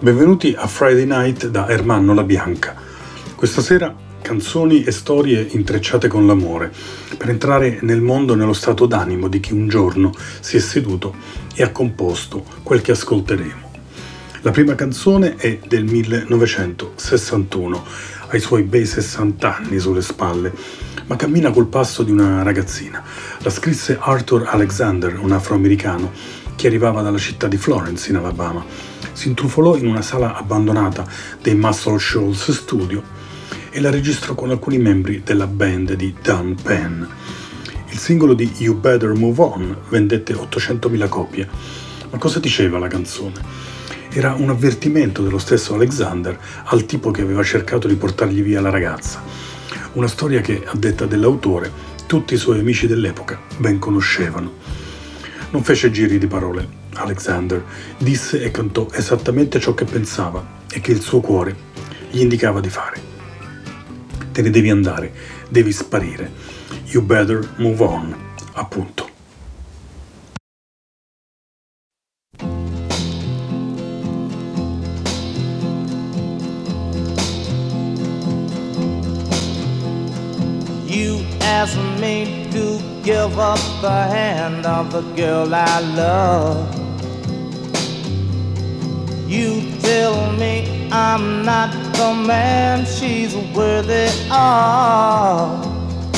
Benvenuti a Friday Night da Ermanno La Bianca. Questa sera canzoni e storie intrecciate con l'amore, per entrare nel mondo e nello stato d'animo di chi un giorno si è seduto e ha composto quel che ascolteremo. La prima canzone è del 1961, ha i suoi bei 60 anni sulle spalle, ma cammina col passo di una ragazzina. La scrisse Arthur Alexander, un afroamericano che arrivava dalla città di Florence in Alabama. Si intrufolò in una sala abbandonata dei Muscle Shoals Studio e la registrò con alcuni membri della band di Dan Penn. Il singolo di You Better Move On vendette 800.000 copie. Ma cosa diceva la canzone? Era un avvertimento dello stesso Alexander al tipo che aveva cercato di portargli via la ragazza. Una storia che, a detta dell'autore, tutti i suoi amici dell'epoca ben conoscevano. Non fece giri di parole. Alexander disse e cantò esattamente ciò che pensava e che il suo cuore gli indicava di fare. Te ne devi andare, devi sparire. You better move on, appunto. You asked me to give up the hand of the girl I love. You tell me I'm not the man she's worthy of.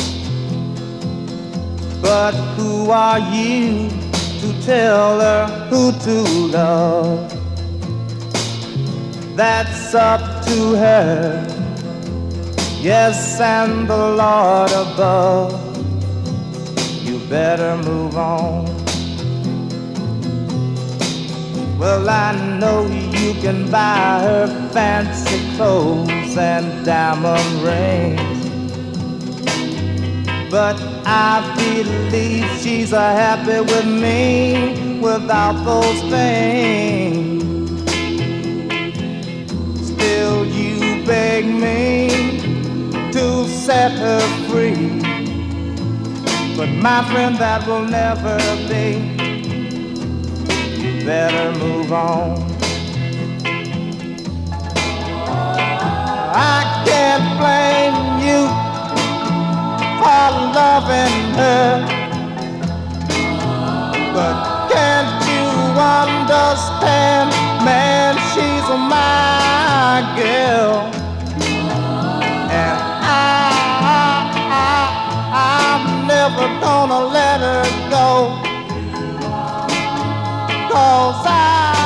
But who are you to tell her who to love? That's up to her. Yes, and the Lord above. You better move on. Well, I know you can buy her fancy clothes and diamond rings, but I believe she's happy with me without those things. Still you beg me to set her free, but my friend, that will never be. You better move on. I can't blame you for loving her, but can't you understand, man, she's my girl, and I'm never gonna let her go, 'cause I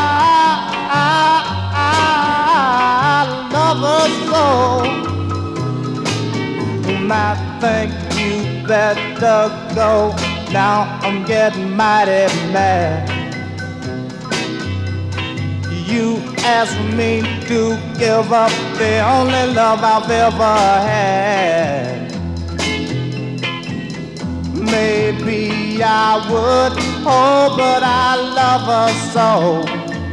love her so. And I think you better go. Now I'm getting mighty mad. You asked me to give up the only love I've ever had. Maybe I would, oh, but I love her so.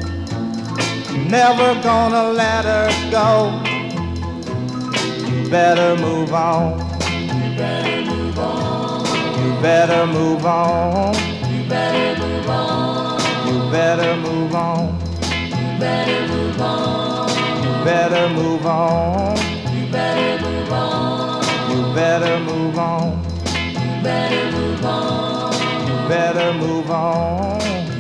Never gonna let her go. You better move on. You better move on. You better move on. You better move on. You better move on. You better move on. You better move on. You better move on. You better move on. Better move on. Better move on.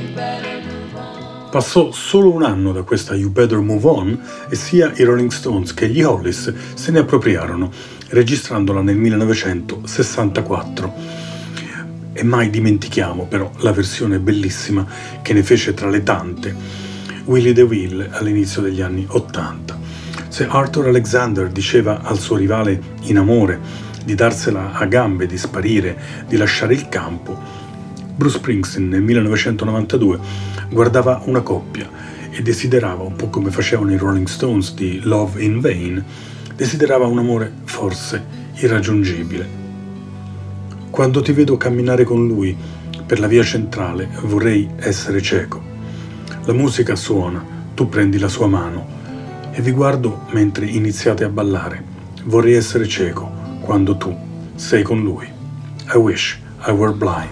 Passò solo un anno da questa You Better Move On e sia i Rolling Stones che gli Hollies se ne appropriarono, registrandola nel 1964. E mai dimentichiamo però la versione bellissima che ne fece tra le tante Willie DeVille all'inizio degli anni 80. Se Arthur Alexander diceva al suo rivale in amore di darsela a gambe, di sparire, di lasciare il campo, Bruce Springsteen nel 1992 guardava una coppia e desiderava, un po' come facevano i Rolling Stones di Love in Vain, desiderava un amore forse irraggiungibile. Quando ti vedo camminare con lui per la via centrale vorrei essere cieco. La musica suona, tu prendi la sua mano e vi guardo mentre iniziate a ballare. Vorrei essere cieco quando tu sei con lui. I wish I were blind.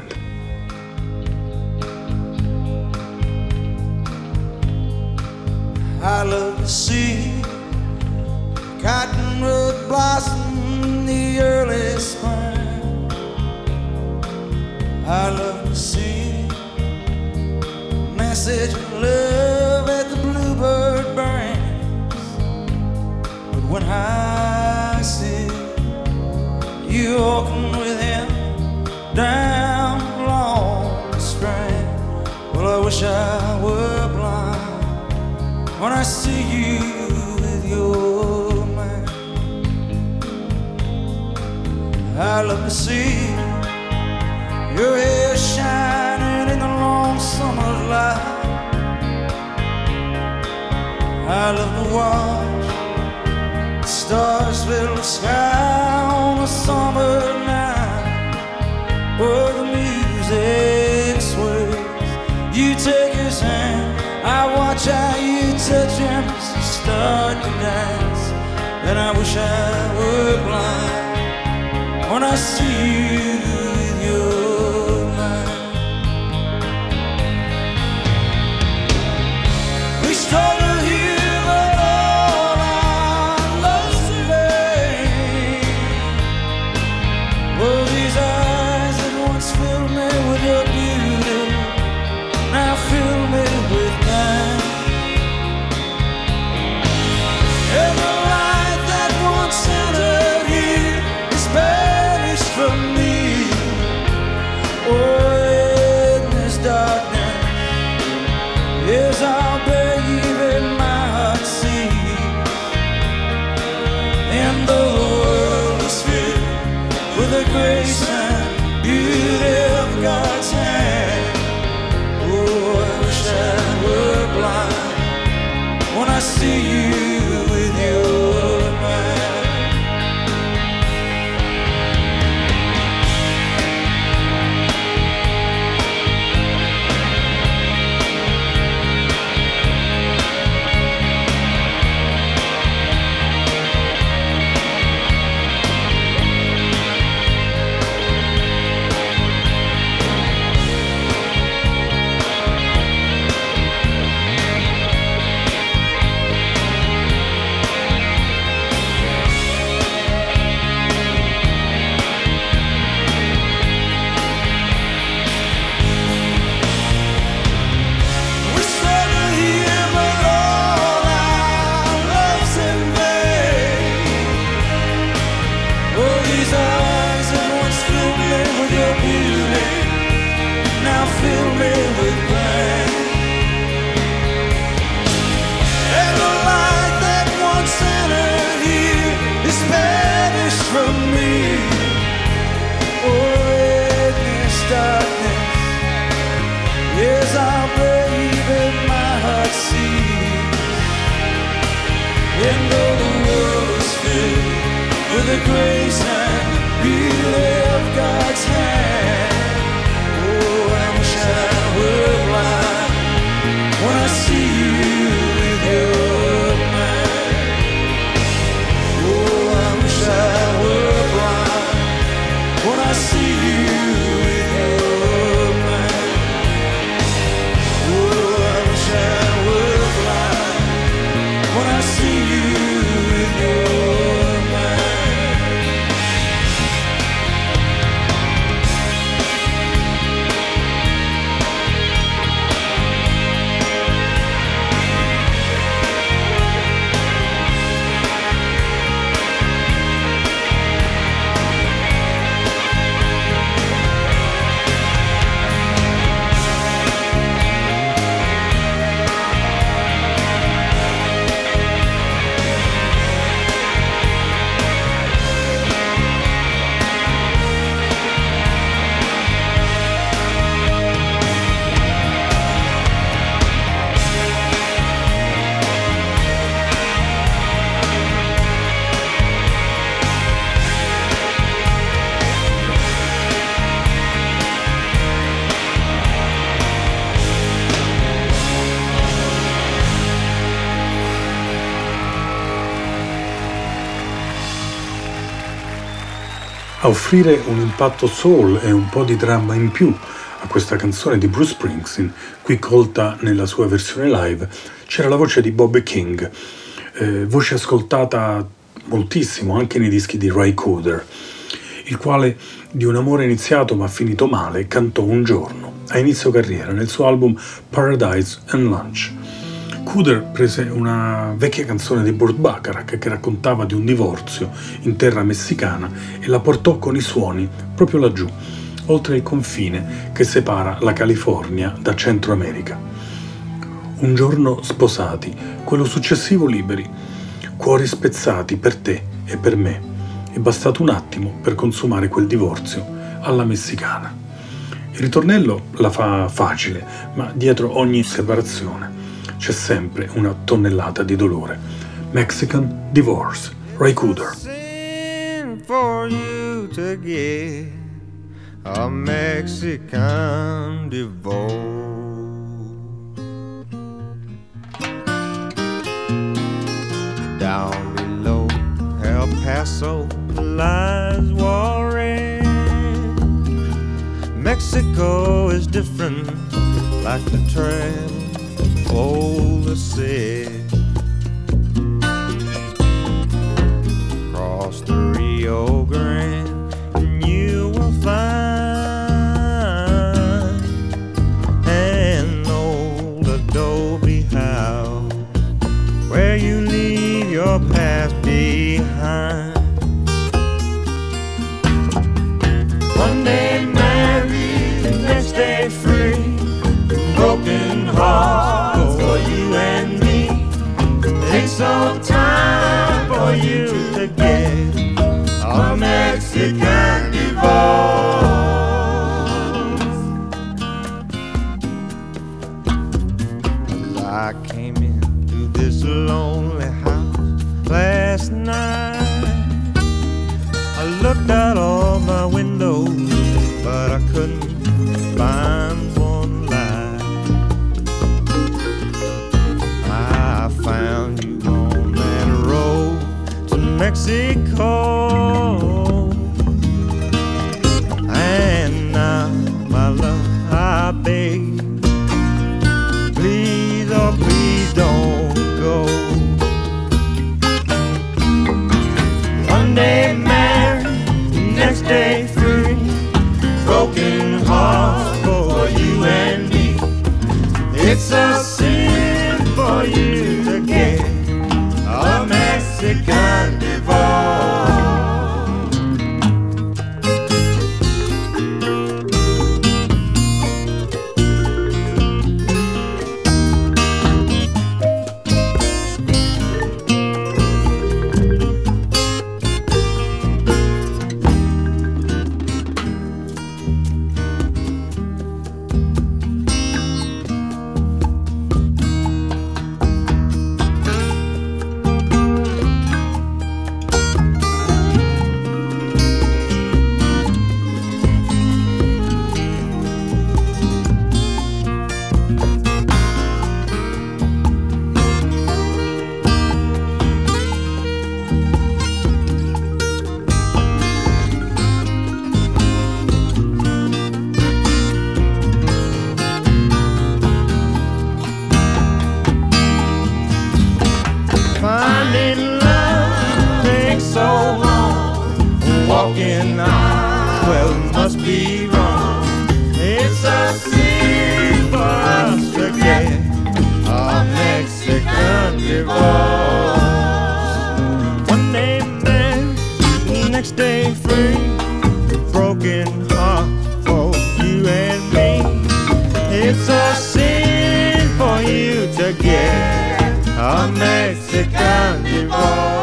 I look to see cottonwood blossom in the early spring. I love to see message of love that the bluebird brings. But when I see you walking with him down along the strand, well, I wish I were blind when I see you with your man. I love to see your hair shining in the long summer's light. I love to watch the stars fill the sky on a summer night, where the music sways. You take his hand, I watch how you touch him as you start to dance. And I wish I were blind when I see you with your man. We struggle here, but all our love's in vain. Well, these eyes that once filled me with your beauty now fill me with pain. And the light that once entered here is banished from me. Oh, in this darkness, yes, I'll baby my heart see. And though the world is filled with the grace and beauty of God's hand, oh, I wish I were blind when I see you with your man. And though the world is filled with the grace and beauty of God's hand, oh, I wish I were blind when I see you with your man. Oh, I wish I were blind when I see you with your man. Oh, I wish I were blind when I see you with your man. A offrire un impatto soul e un po' di dramma in più a questa canzone di Bruce Springsteen, qui colta nella sua versione live, c'era la voce di Bobby King. voce ascoltata moltissimo anche nei dischi di Ry Cooder, il quale di un amore iniziato ma finito male cantò un giorno a inizio carriera nel suo album Paradise and Lunch. Cooder prese una vecchia canzone di Burt Bacharach che raccontava di un divorzio in terra messicana e la portò con i suoni proprio laggiù, oltre il confine che separa la California da Centro America. Un giorno sposati, quello successivo liberi, cuori spezzati per te e per me. È bastato un attimo per consumare quel divorzio alla messicana. Il ritornello la fa facile, ma dietro ogni separazione c'è sempre una tonnellata di dolore. Mexican Divorce, Ry Cooder. For you to get a Mexican divorce. Down below El Paso lies Juarez. Mexico is different, like the trail older said. Across the Rio Grande, and you will find an old adobe house where you leave your past behind. One day married, the next day free, broken hearts for you and me. Take some time for you to get a Mexican divorce. As I came into this lonely house last night, I looked out all my windows, but I couldn't find one light. I found you on that road to Mexico, and now, my love, I beg, please, oh please don't go. One day married, next day free, broken hearts for you and me. It's a sin for you to get a Mexican divorce. Finding love takes so long. Walking out, well, it must be wrong. It's a sin for us to get a Mexican divorce. One day married, next day free, broken heart for you and me. It's a sin for you to get a Mexican divorce.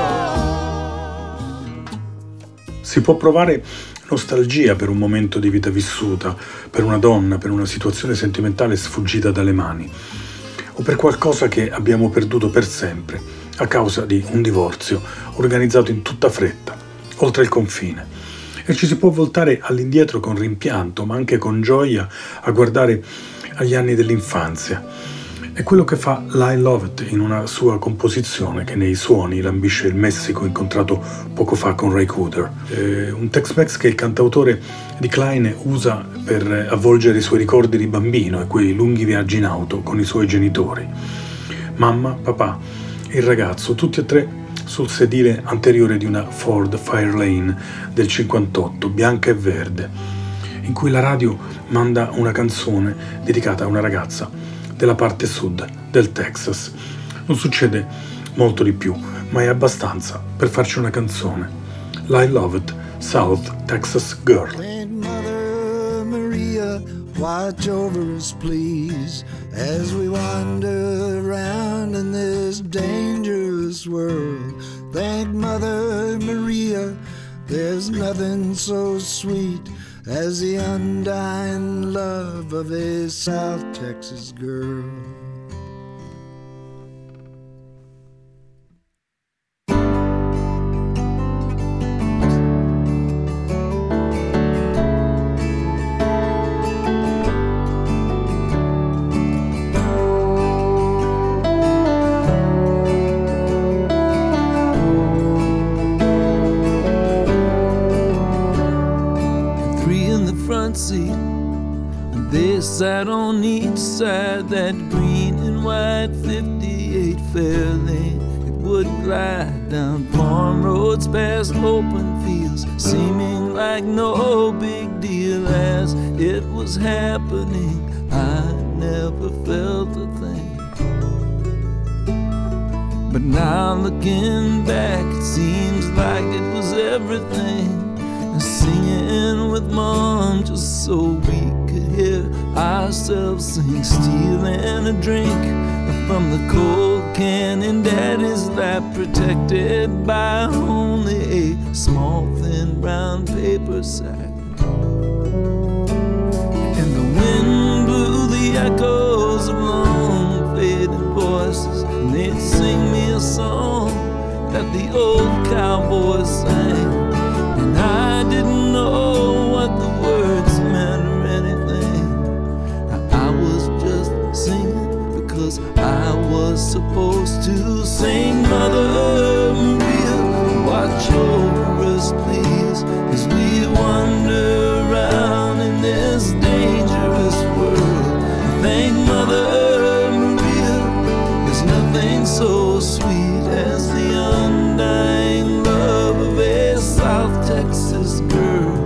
Si può provare nostalgia per un momento di vita vissuta, per una donna, per una situazione sentimentale sfuggita dalle mani, o per qualcosa che abbiamo perduto per sempre a causa di un divorzio organizzato in tutta fretta, oltre il confine. E ci si può voltare all'indietro con rimpianto, ma anche con gioia, a guardare agli anni dell'infanzia. È quello che fa Lyle Lovett in una sua composizione che nei suoni lambisce il Messico incontrato poco fa con Ry Cooder. Un Tex-Mex che il cantautore di Klein usa per avvolgere i suoi ricordi di bambino e quei lunghi viaggi in auto con i suoi genitori. Mamma, papà e il ragazzo, tutti e tre sul sedile anteriore di una Ford Fairlane del 58, bianca e verde, in cui la radio manda una canzone dedicata a una ragazza della parte sud del Texas. Non succede molto di più, ma è abbastanza per farci una canzone. I Loved South Texas Girl. Mother Maria, watch over us please as we wander around in this dangerous world. Thank Mother Maria, there's nothing so sweet as the undying love of a South Texas girl. Seat, and they sat on each side that green and white 58 Fairlane. It would glide down farm roads past open fields, seeming like no big deal as it was happening. I never felt a thing, but now looking back, it seems like it was everything. Singing with Mom just so we could hear ourselves sing, stealing a drink from the cold can in Daddy's lap, protected by only a small thin brown paper sack. And the wind blew the echoes of long faded voices, and they'd sing me a song that the old cowboys sang. And I didn't know what the words meant or anything. I was just singing because I was supposed to sing. Mother Maria, watch over us please as we wander around in this dangerous world. Thank Mother Maria, there's nothing so sweet as the undying love of a South Texas girl.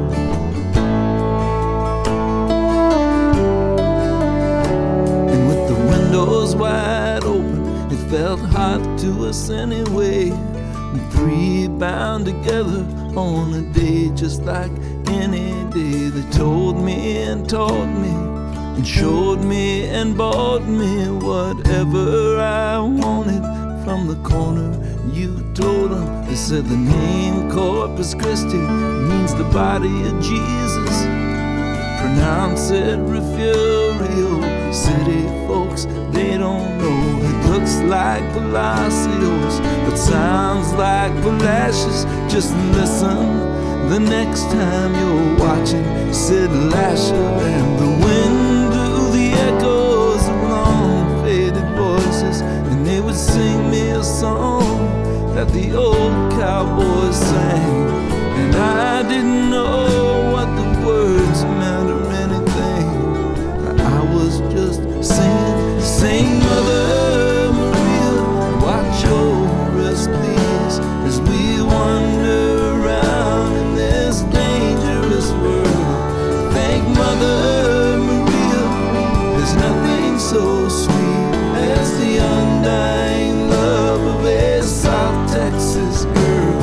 And with the windows wide open, it felt hot to us anyway. We three bound together on a day just like any day. They told me and taught me and showed me and bought me whatever I wanted from the corner you told them. They said the name Corpus Christi means the body of Jesus. Pronounce it Refugio. City folks, they don't know. It looks like Palacios, but sounds like Palacios. Just listen the next time you're watching Sid Lasher. And the wind blew the echoes of long faded voices, and they would sing me a song that the old cowboys sang. And I didn't know what the words meant or anything. I was just singing, sing Mother Maria, watch over us please as we wander around in this dangerous world. Thank Mother Maria, there's nothing so sweet as the undying love of a South Texas girl.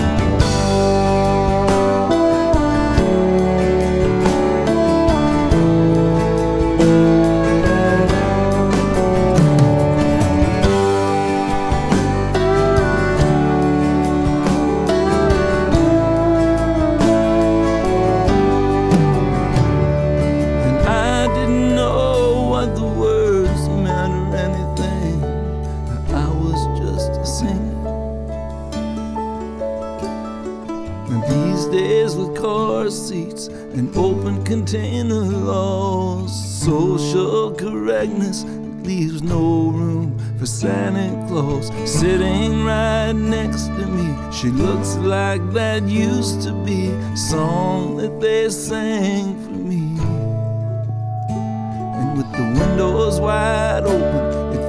Seats and open container laws, social correctness leaves no room for Santa Claus. Sitting right next to me, she looks like that used to be a song that they sang for me. And with the windows wide open, it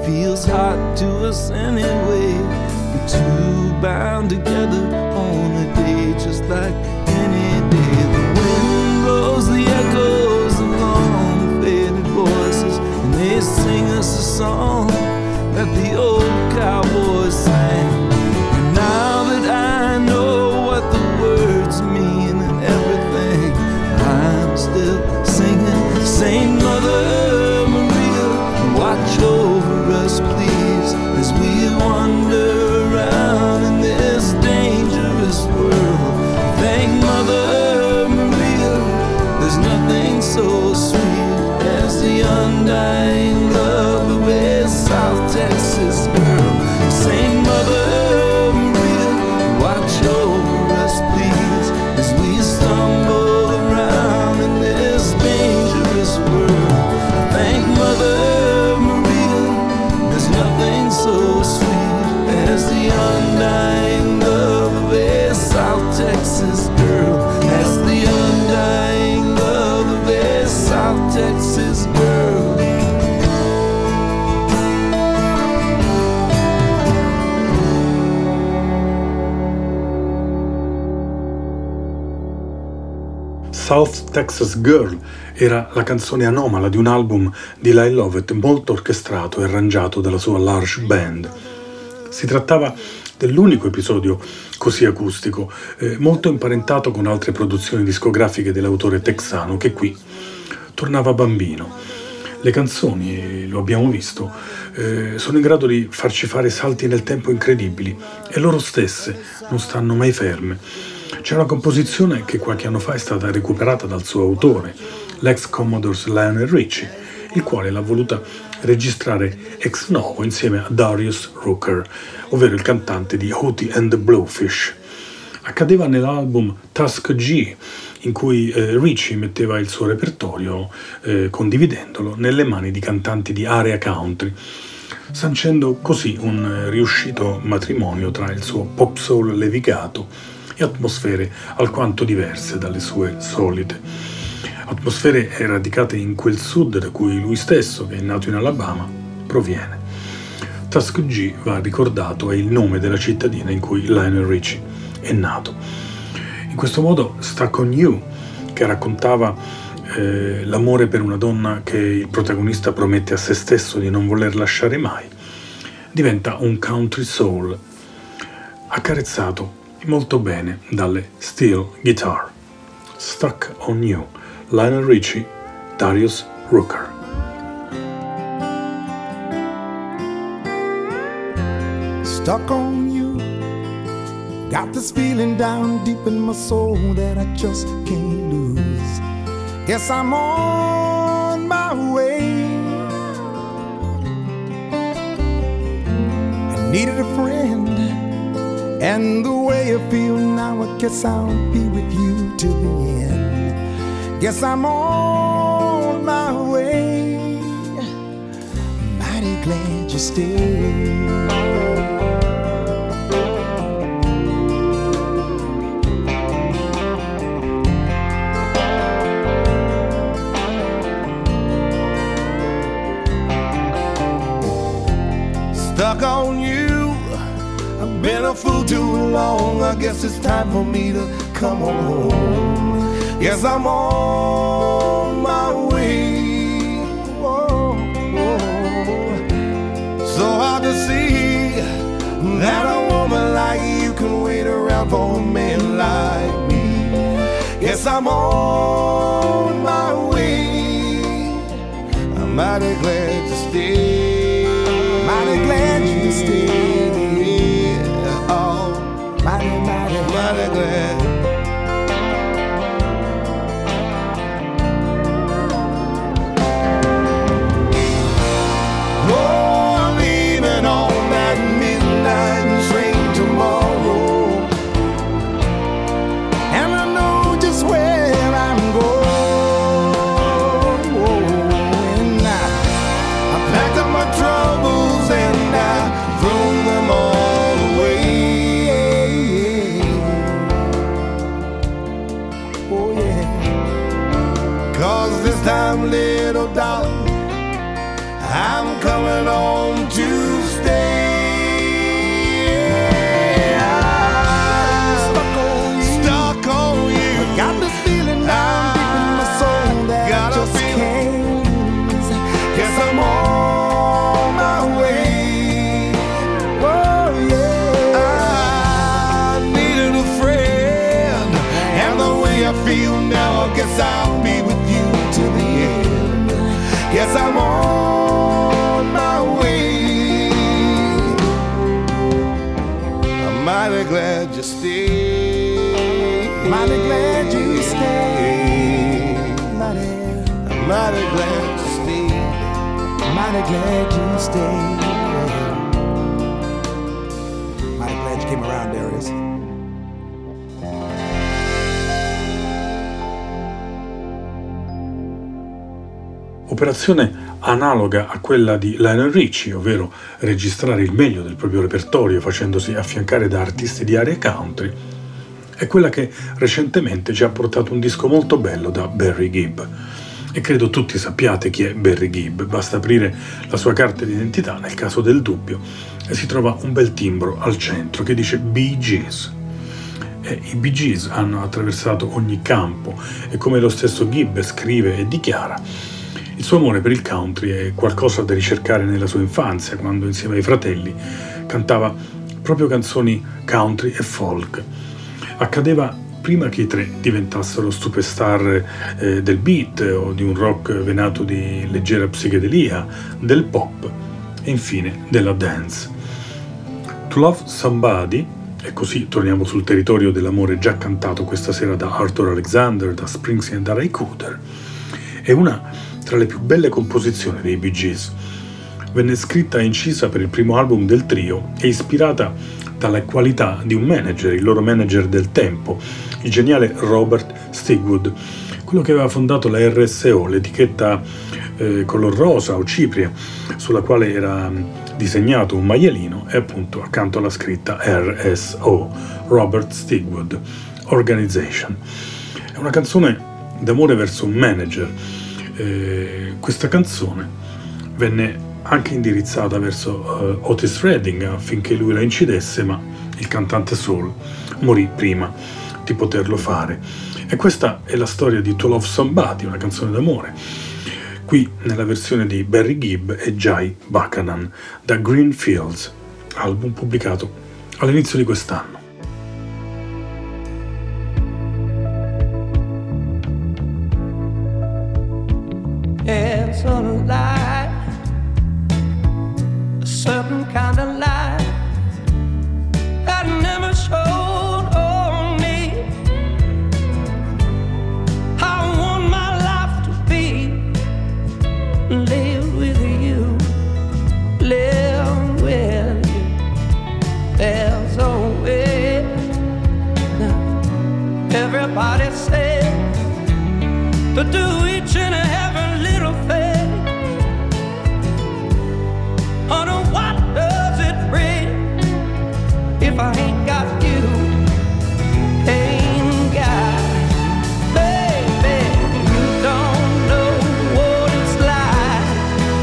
feels hot to us anyway. We're two bound together on a day just like any day. The wind blows the echoes of long faded voices, and they sing us a song that the old cowboys sang. And now that I know what the words mean and everything, I'm still singing. Saint Mother Maria, watch over us please as we wander around in this dangerous world. Thank Mother Maria, there's nothing so sweet as the undying love of a South Texas girl. Saint Mother Maria, watch over us please as we stumble around in this dangerous world. Thank Mother Maria, there's nothing so sweet as the undying love of a South Texas girl. As the undying love of a South Texas girl. South Texas Girl era la canzone anomala di un album di Lyle Lovett molto orchestrato e arrangiato dalla sua large band. Si trattava dell'unico episodio così acustico, molto imparentato con altre produzioni discografiche dell'autore texano che qui tornava bambino. Le canzoni, lo abbiamo visto, sono in grado di farci fare salti nel tempo incredibili e loro stesse non stanno mai ferme. C'è una composizione che qualche anno fa è stata recuperata dal suo autore, l'ex Commodore Lionel Richie, il quale l'ha voluta registrare ex novo insieme a Darius Rucker, ovvero il cantante di Hootie and the Blowfish. Accadeva nell'album Tusk G, in cui Richie metteva il suo repertorio, condividendolo nelle mani di cantanti di area country, sancendo così un riuscito matrimonio tra il suo pop soul levigato e atmosfere alquanto diverse dalle sue solite. Atmosfere radicate in quel sud da cui lui stesso, che è nato in Alabama, proviene. Tusk G va ricordato, è il nome della cittadina in cui Lionel Richie è nato. In questo modo Stuck on You, che raccontava l'amore per una donna che il protagonista promette a se stesso di non voler lasciare mai, diventa un country soul accarezzato molto bene dalle steel guitar. Stuck on You, Lionel Richie, Darius Rucker. Stuck on you, got this feeling down deep in my soul that I just can't lose. Guess I'm on my way. I needed a friend, and the way I feel now, I guess I'll be with you till the end. Guess I'm on my way. Mighty glad you stayed. Stuck on you, I've been a fool too long. I guess it's time for me to come home. Yes, I'm on my way. Whoa, whoa. So hard to see that a woman like you can wait around for a man like me. Yes, I'm on my way. I'm mighty glad to stay. Mighty glad you stayed. Oh, mighty glad. Oh, I'm leaving on that midnight train tomorrow, and I know just where I'm going. I packed up my troubles and I threw them all away. Oh yeah, 'cause this time, little darling, I'm coming home to feel now, I guess I'll be with you till the end. Yes, I'm on my way. I'm mighty glad you stayed. Mighty glad you stayed. I'm mighty glad you stayed. Mighty glad you stayed. Mighty glad you came around, Darius. Operazione analoga a quella di Lionel Richie, ovvero registrare il meglio del proprio repertorio facendosi affiancare da artisti di area country, è quella che recentemente ci ha portato un disco molto bello da Barry Gibb. E credo tutti sappiate chi è Barry Gibb, basta aprire la sua carta d'identità nel caso del dubbio e si trova un bel timbro al centro che dice Bee Gees. E i Bee Gees hanno attraversato ogni campo e, come lo stesso Gibb scrive e dichiara, il suo amore per il country è qualcosa da ricercare nella sua infanzia, quando insieme ai fratelli cantava proprio canzoni country e folk. Accadeva prima che i tre diventassero superstar del beat o di un rock venato di leggera psichedelia, del pop e infine della dance. To Love Somebody, e così torniamo sul territorio dell'amore già cantato questa sera da Arthur Alexander, da Springsteen e da Ray Cooder, è una tra le più belle composizioni dei Bee Gees. Venne scritta e incisa per il primo album del trio e ispirata dalle qualità di un manager, il loro manager del tempo, il geniale Robert Stigwood, quello che aveva fondato la RSO, l'etichetta color rosa o cipria, sulla quale era disegnato un maialino e appunto accanto alla scritta RSO, Robert Stigwood Organization. È una canzone d'amore verso un manager. Questa canzone venne anche indirizzata verso Otis Redding affinché lui la incidesse, ma il cantante soul morì prima di poterlo fare. E questa è la storia di To Love Somebody, una canzone d'amore, qui nella versione di Barry Gibb e Jai Buchanan da Green Fields, album pubblicato all'inizio di quest'anno. It's a lie, a certain kind of lie that never showed on me. I want my life to be live with you, live with you. There's a way. Everybody says to do each and every little thing. Honey, what does it bring if I ain't got you? Ain't got, baby, you don't know what it's like.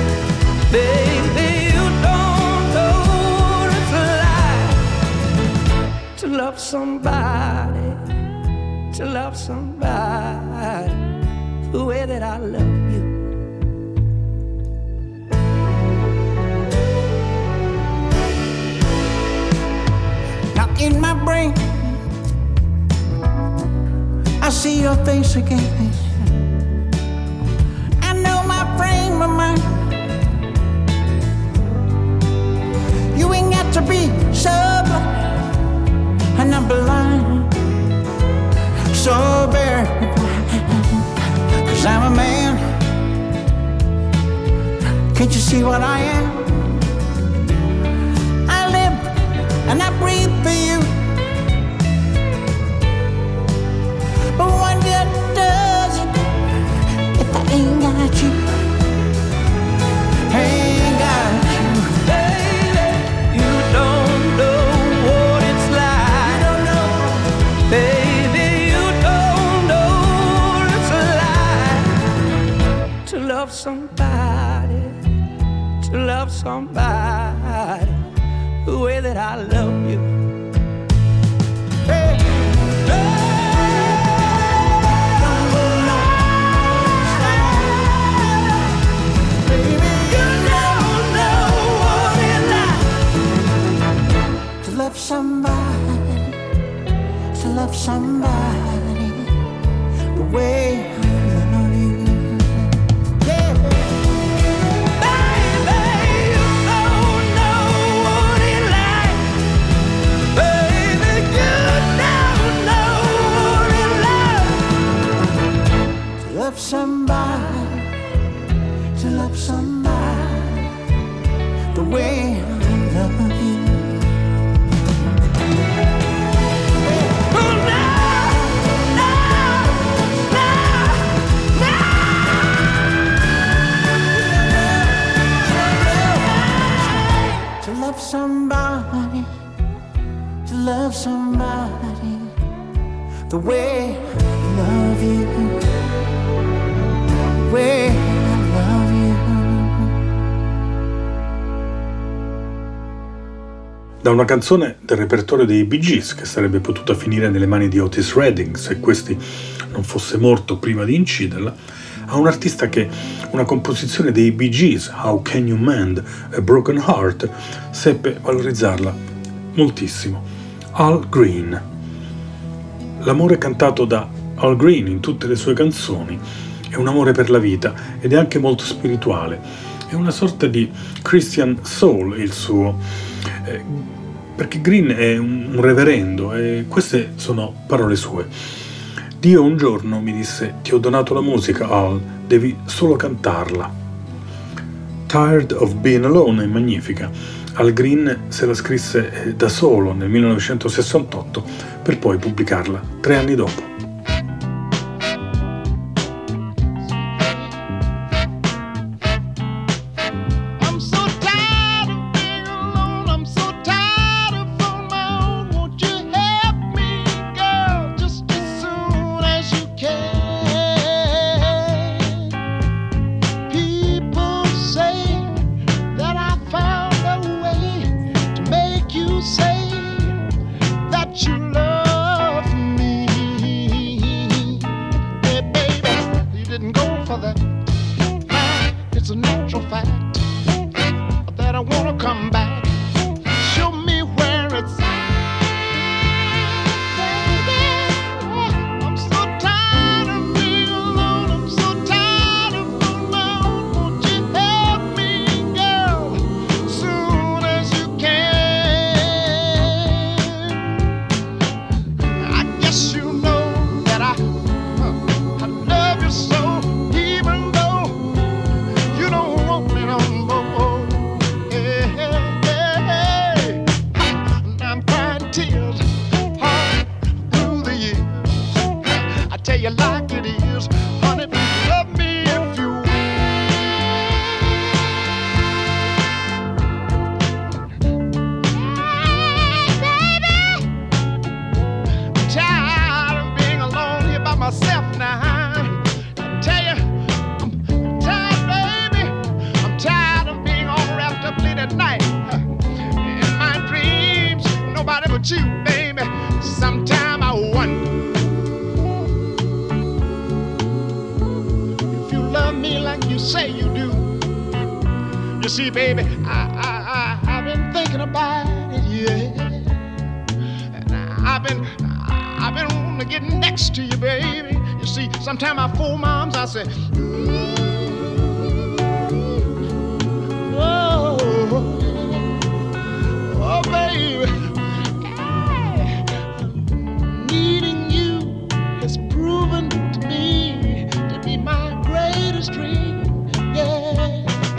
Baby, you don't know what it's like to love somebody, to love somebody the way that I love you. Now in my brain I see your face again. I know my frame of mind. You ain't got to be so blind, and I'm blind, so very blind. 'Cause I'm a man. Can't you see what I am? I live and I breathe for you. But what good does it if I ain't got you? Ain't got you. Baby, you don't know what it's like. You don't know. Baby, you don't know what it's like to love somebody, to love somebody the way that I love you. Hey. Somebody, to love somebody somebody, to love somebody the way I love you. Somebody, to love somebody the way I love you, the way I love you. Da una canzone del repertorio dei Bee Gees che sarebbe potuta finire nelle mani di Otis Redding se questi non fosse morto prima di inciderla, a un artista che una composizione dei Bee Gees, How Can You Mend a Broken Heart, seppe valorizzarla moltissimo, Al Green. L'amore cantato da Al Green in tutte le sue canzoni è un amore per la vita ed è anche molto spirituale, è una sorta di Christian soul il suo, perché Green è un reverendo e queste sono parole sue. Dio un giorno mi disse: ti ho donato la musica, Al, devi solo cantarla. Tired of Being Alone è magnifica. Al Green se la scrisse da solo nel 1968 per poi pubblicarla 3 anni dopo. See, baby, I've been thinking about it, yeah. And I've been wanting to get next to you, baby. You see, sometimes I fool moms, I say, oh, oh, baby, needing you has proven to me to be my greatest dream, yeah.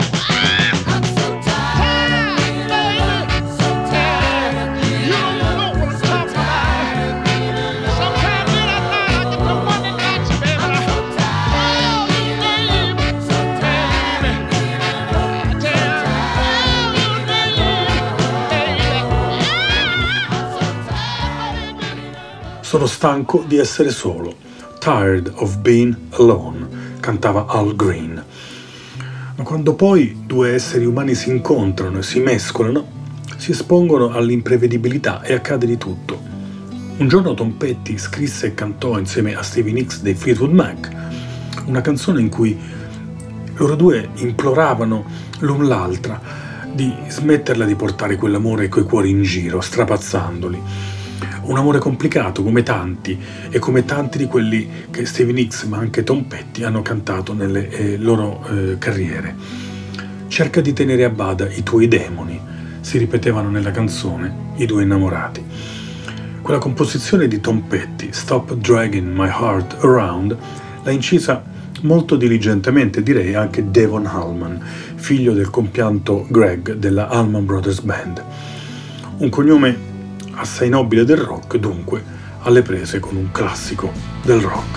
Sono stanco di essere solo. Tired of being alone, cantava Al Green. Ma quando poi due esseri umani si incontrano e si mescolano, si espongono all'imprevedibilità e accade di tutto. Un giorno Tom Petty scrisse e cantò insieme a Stevie Nicks dei Fleetwood Mac una canzone in cui loro due imploravano l'un l'altra di smetterla di portare quell'amore e quei cuori in giro, strapazzandoli. Un amore complicato come tanti e come tanti di quelli che Stevie Nicks ma anche Tom Petty hanno cantato nelle loro carriere. Cerca di tenere a bada i tuoi demoni, si ripetevano nella canzone i due innamorati. Quella composizione di Tom Petty, Stop Dragging My Heart Around, l'ha incisa molto diligentemente, direi anche Devon Allman, figlio del compianto Greg della Allman Brothers Band. Un cognome assai nobile del rock, dunque, alle prese con un classico del rock.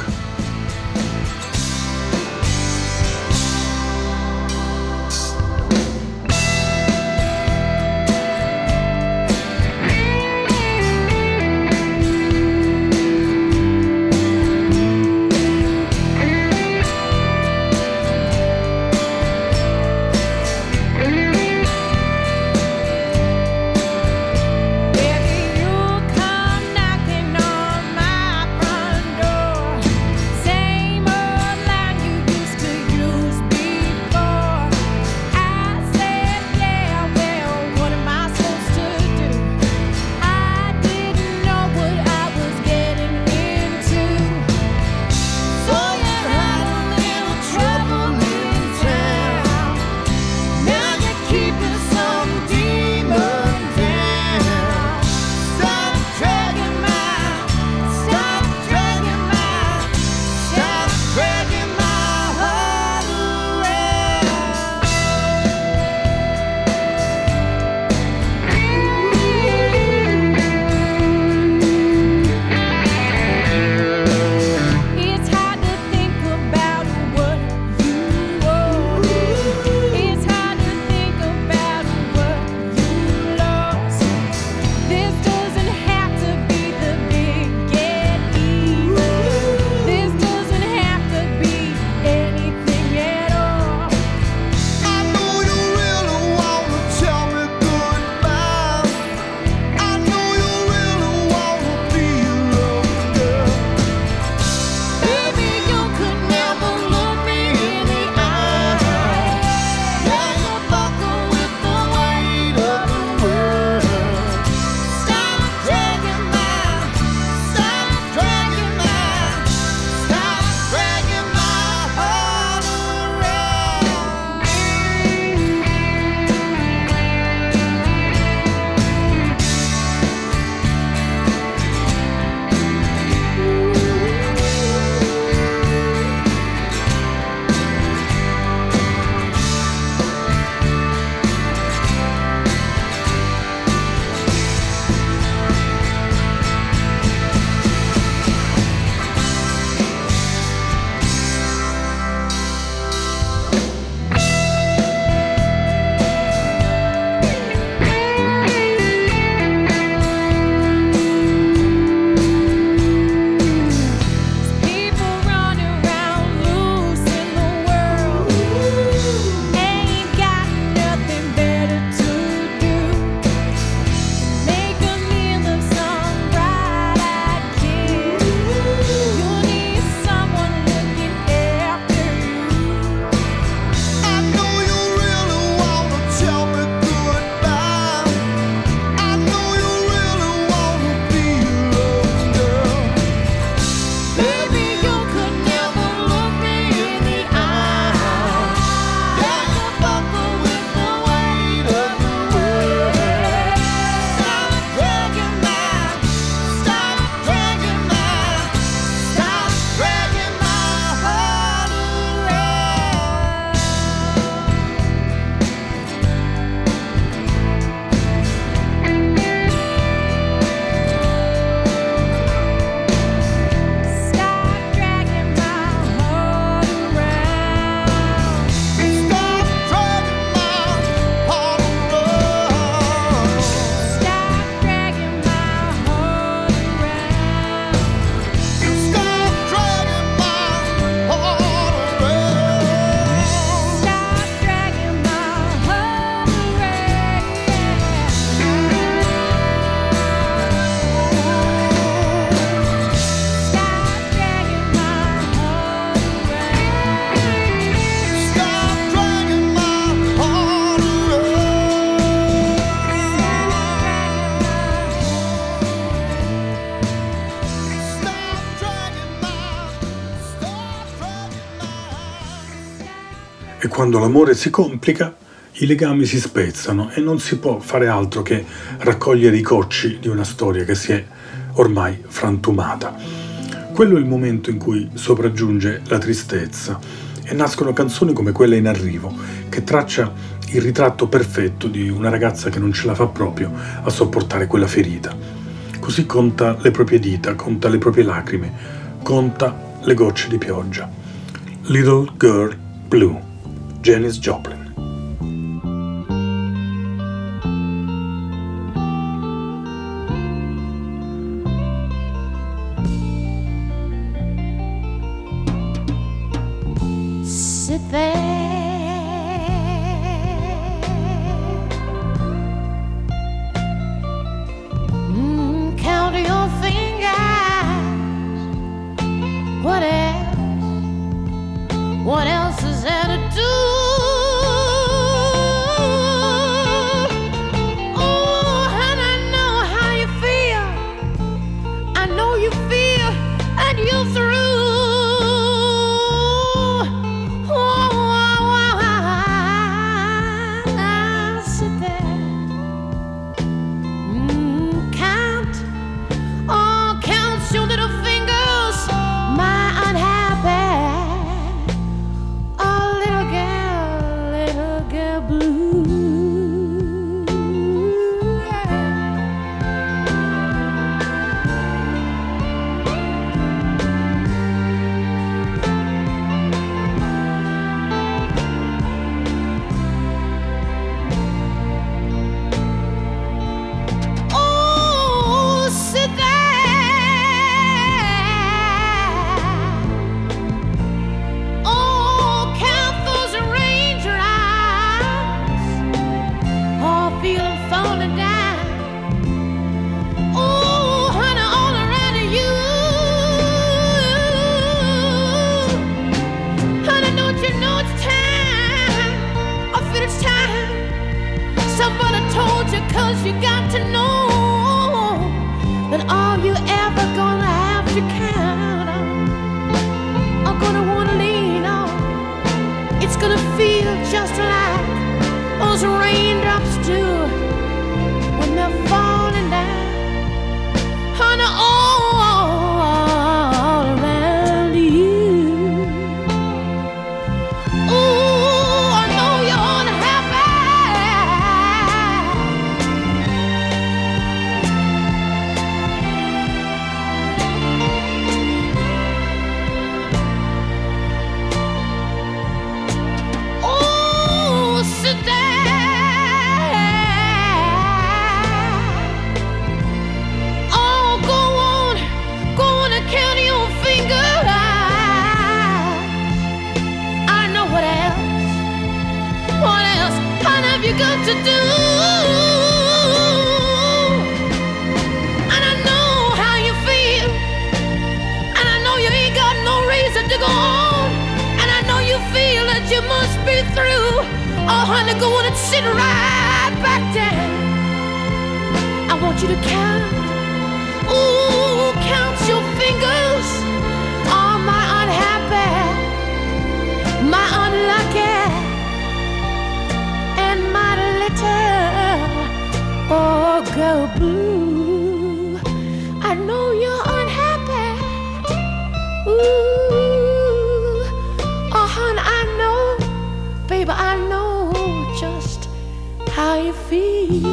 E quando l'amore si complica, i legami si spezzano e non si può fare altro che raccogliere i cocci di una storia che si è ormai frantumata. Quello è il momento in cui sopraggiunge la tristezza e nascono canzoni come quella In arrivo, che traccia il ritratto perfetto di una ragazza che non ce la fa proprio a sopportare quella ferita. Così conta le proprie dita, conta le proprie lacrime, conta le gocce di pioggia. Little Girl Blue, Janis Joplin. Sit there, count your fingers. What else is there to do? Oh, and I know how you feel. I know you feel, and you're through. You got to know that all you ever gonna have to count on, are gonna wanna lean on. It's gonna feel just like those raindrops do when they're falling down on all around you. Ooh, I know you're unhappy. Got to do, and I know how you feel, and I know you ain't got no reason to go on, and I know you feel that you must be through. Oh honey, go on and sit right back down. I want you to count, ooh, count your fingers. Oh my unhappy, my unlucky, oh, girl blue, I know you're unhappy. Ooh, oh, hon, I know, baby, I know just how you feel.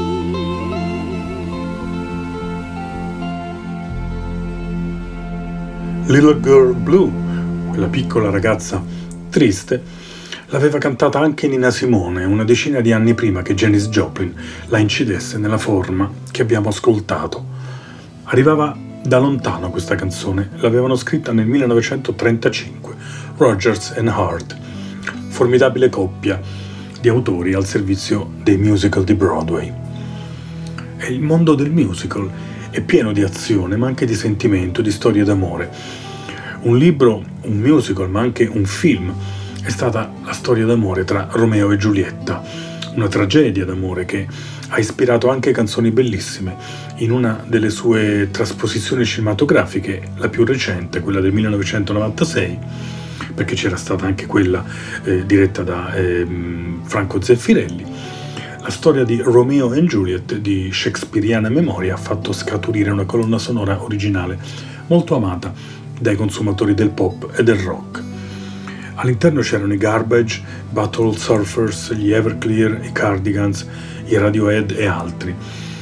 Little Girl Blue, quella piccola ragazza triste, l'aveva cantata anche Nina Simone una decina di anni prima che Janis Joplin la incidesse nella forma che abbiamo ascoltato. Arrivava da lontano questa canzone, l'avevano scritta nel 1935, Rodgers and Hart, formidabile coppia di autori al servizio dei musical di Broadway. E il mondo del musical è pieno di azione, ma anche di sentimento, di storie d'amore. Un libro, un musical, ma anche un film è stata la storia d'amore tra Romeo e Giulietta, una tragedia d'amore che ha ispirato anche canzoni bellissime. In una delle sue trasposizioni cinematografiche, la più recente, quella del 1996, perché c'era stata anche quella diretta da Franco Zeffirelli, la storia di Romeo and Juliet di shakespeariana memoria ha fatto scaturire una colonna sonora originale molto amata dai consumatori del pop e del rock. All'interno c'erano i Garbage, Butthole Surfers, gli Everclear, i Cardigans, i Radiohead e altri.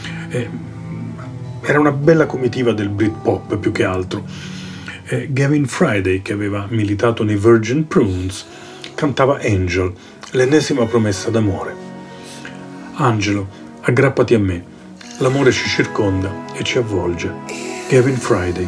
Era una bella comitiva del Britpop più che altro. Gavin Friday, che aveva militato nei Virgin Prunes, cantava Angel, l'ennesima promessa d'amore. Angelo, aggrappati a me, l'amore ci circonda e ci avvolge. Gavin Friday.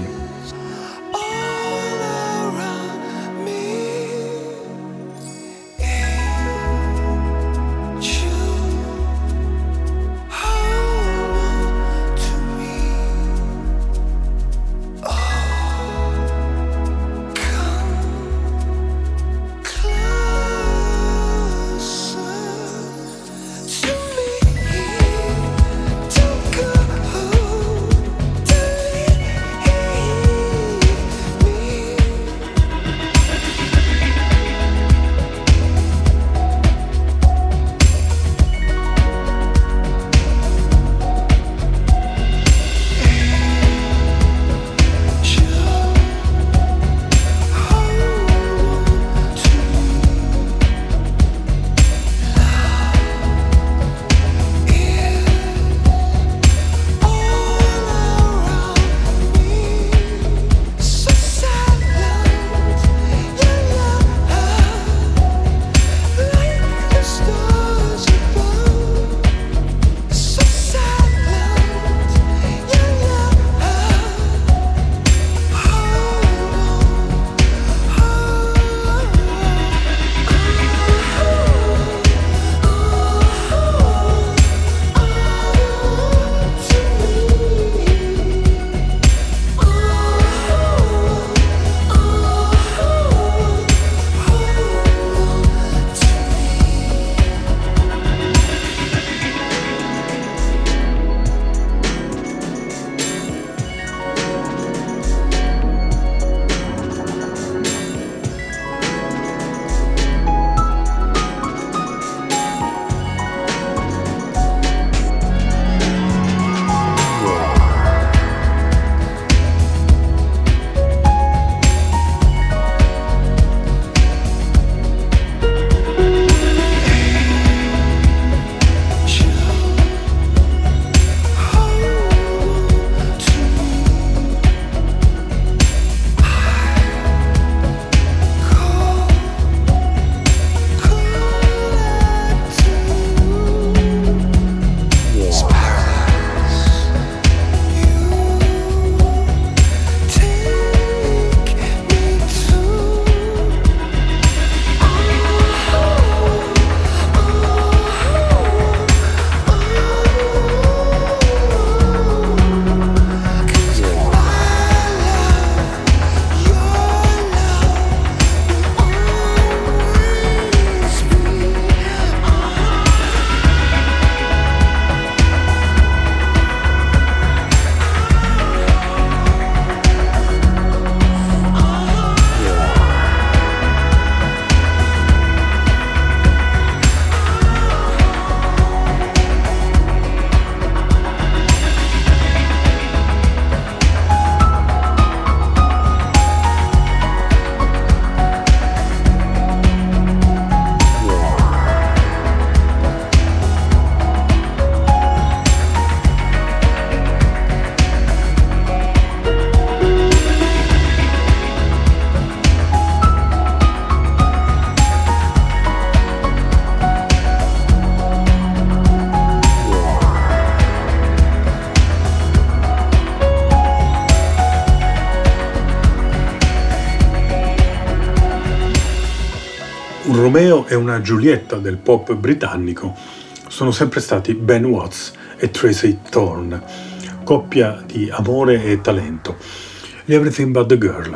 Un Romeo e una Giulietta del pop britannico sono sempre stati Ben Watts e Tracy Thorn, coppia di amore e talento, gli Everything But The Girl.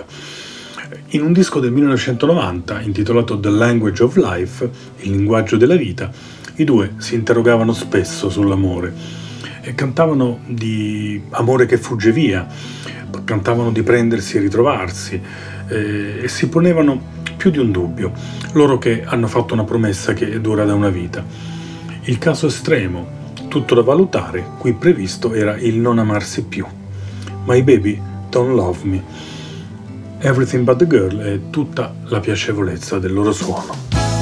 In un disco del 1990 intitolato The Language of Life, il linguaggio della vita, i due si interrogavano spesso sull'amore e cantavano di amore che fugge via, cantavano di prendersi e ritrovarsi e si ponevano più di un dubbio, loro che hanno fatto una promessa che dura da una vita. Il caso estremo, tutto da valutare, qui previsto era il non amarsi più. My Baby Don't Love Me. Everything But the Girl e tutta la piacevolezza del loro suono.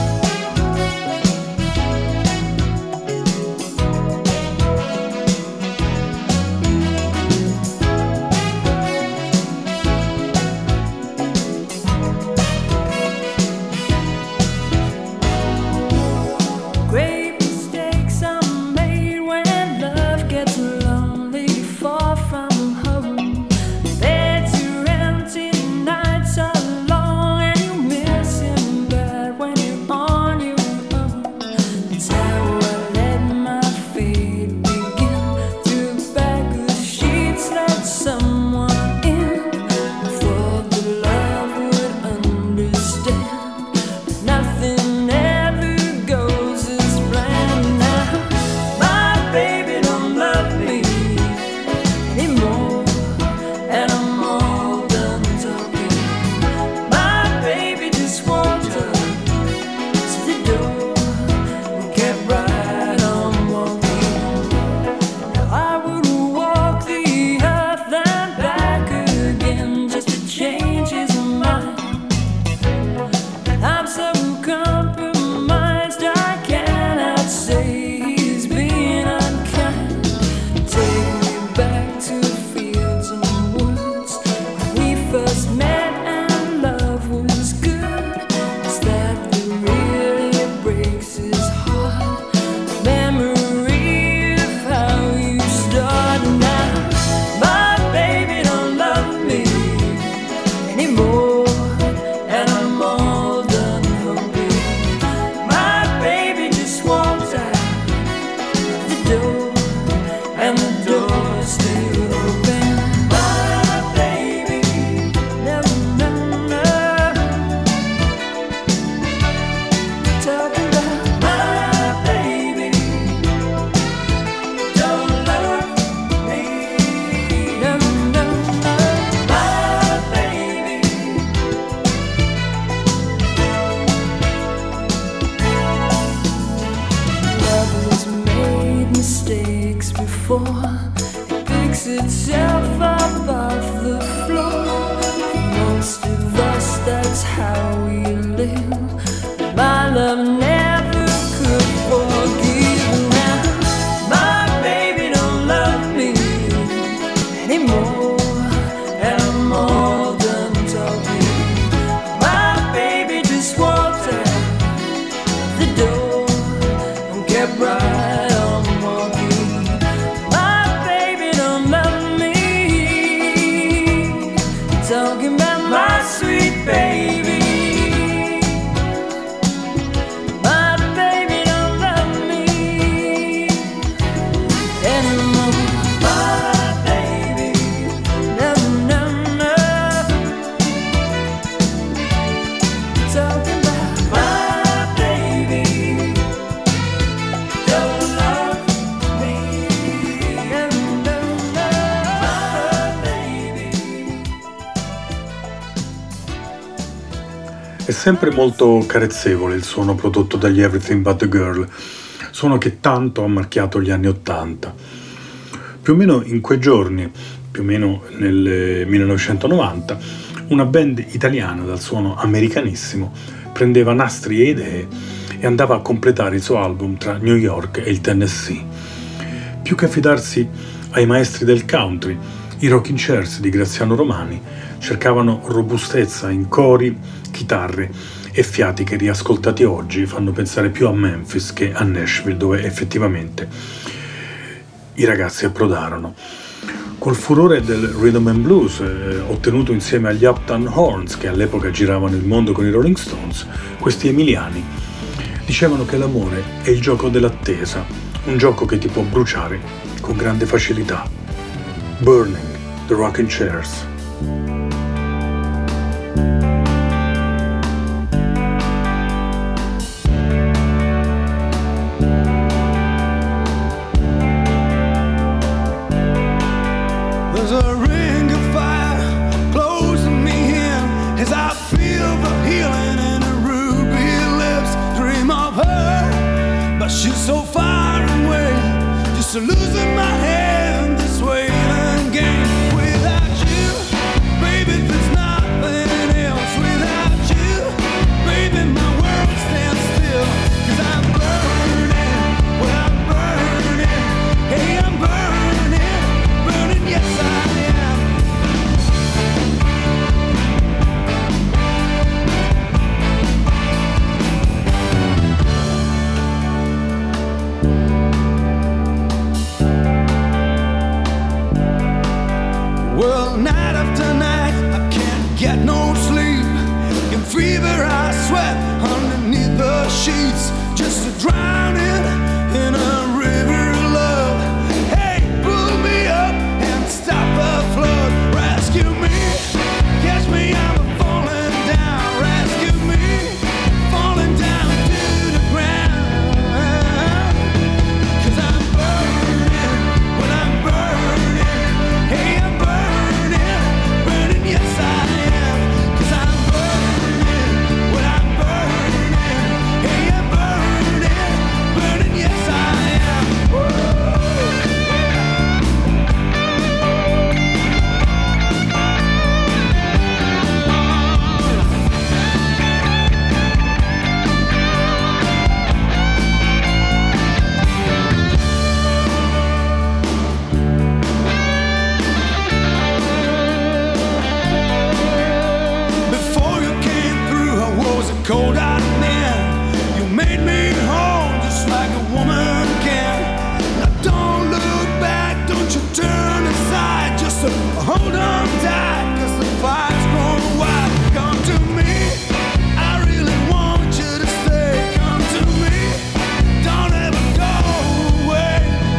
È sempre molto carezzevole il suono prodotto dagli Everything But the Girl, suono che tanto ha marchiato gli anni '80. Più o meno in quei giorni, più o meno nel 1990, una band italiana dal suono americanissimo prendeva nastri e idee e andava a completare il suo album tra New York e il Tennessee. Più che affidarsi ai maestri del country, i Rocking Chairs di Graziano Romani cercavano robustezza in cori, chitarre e fiati che riascoltati oggi fanno pensare più a Memphis che a Nashville, dove effettivamente i ragazzi approdarono. Col furore del rhythm and blues ottenuto insieme agli Uptown Horns, che all'epoca giravano il mondo con i Rolling Stones, questi emiliani dicevano che l'amore è il gioco dell'attesa, un gioco che ti può bruciare con grande facilità. Burning, The Rocking Chairs. Losing my head this way again. Without you, baby, there's nothing streets, just drowning in a river of love. Hey, pull me up and stop the flood. Rescue me, catch me, I'm falling down. Rescue me, falling down to the ground. 'Cause I'm burning, when I'm burning. Hey, I'm burning, burning, yes I am. 'Cause I'm burning, when I'm burning. Hey, I'm burning, burning, yes I am. Before you came through, I was a cold-eyed man. You made me home just like a woman can. Now don't look back, don't you turn aside. Just hold on tight, 'cause the fire's growing wide. Come to me, I really want you to stay. Come to me, don't ever go away.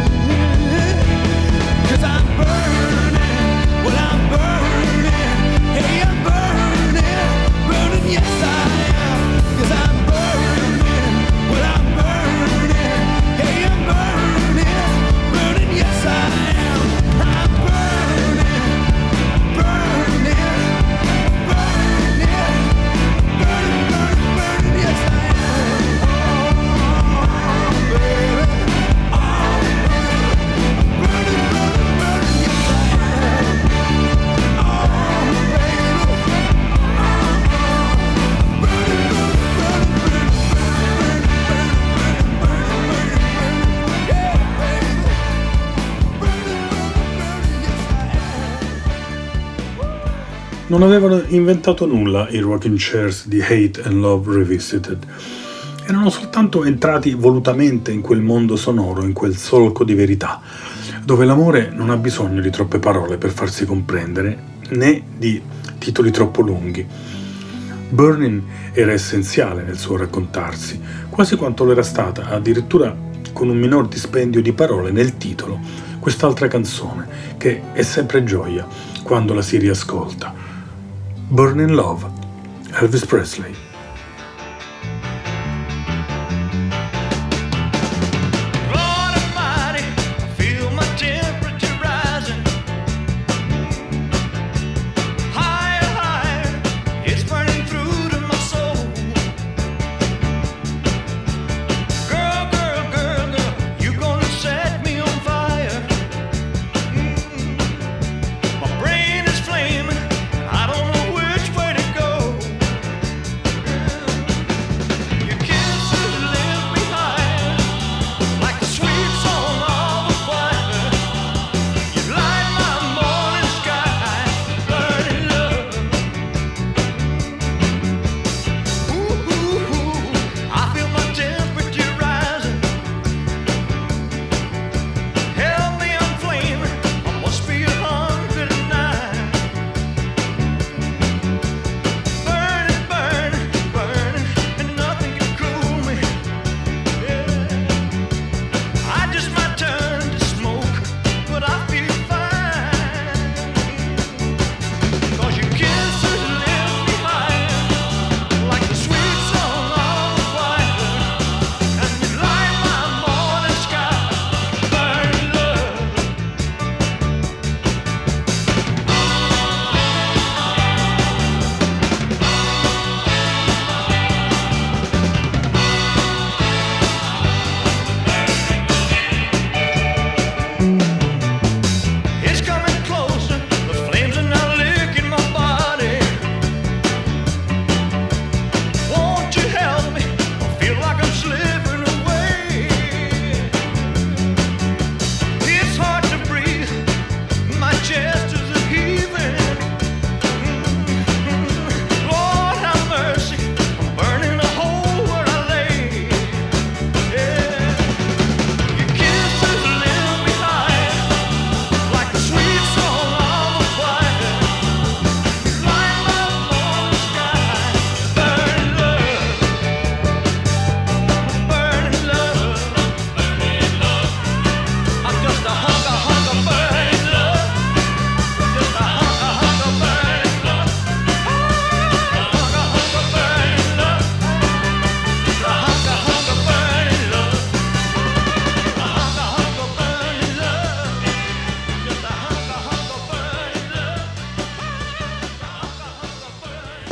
'Cause I'm burning, well I'm burning. Hey, I'm burning, burning, yes I am. 'Cause I'm burning, well I'm burning. Hey, I'm burning, burning, yes I am. I'm burning, burning, burning, burning, burning, burning, yes I am. Oh, baby, oh, burning, burning, burning, yes I am. Oh, baby. Non avevano inventato nulla i rocking chairs di Hate and Love Revisited. Erano soltanto entrati volutamente in quel mondo sonoro, in quel solco di verità, dove l'amore non ha bisogno di troppe parole per farsi comprendere, né di titoli troppo lunghi. Burning era essenziale nel suo raccontarsi, quasi quanto lo era stata, addirittura con un minor dispendio di parole nel titolo, quest'altra canzone, che è sempre gioia quando la si riascolta. Burning Love, Elvis Presley. Lord Almighty, I feel my temperature rising. Higher, higher, it's burning through to my soul. Girl, girl, girl, girl, you gonna set me on fire. My brain is flaming, I don't know which way to go.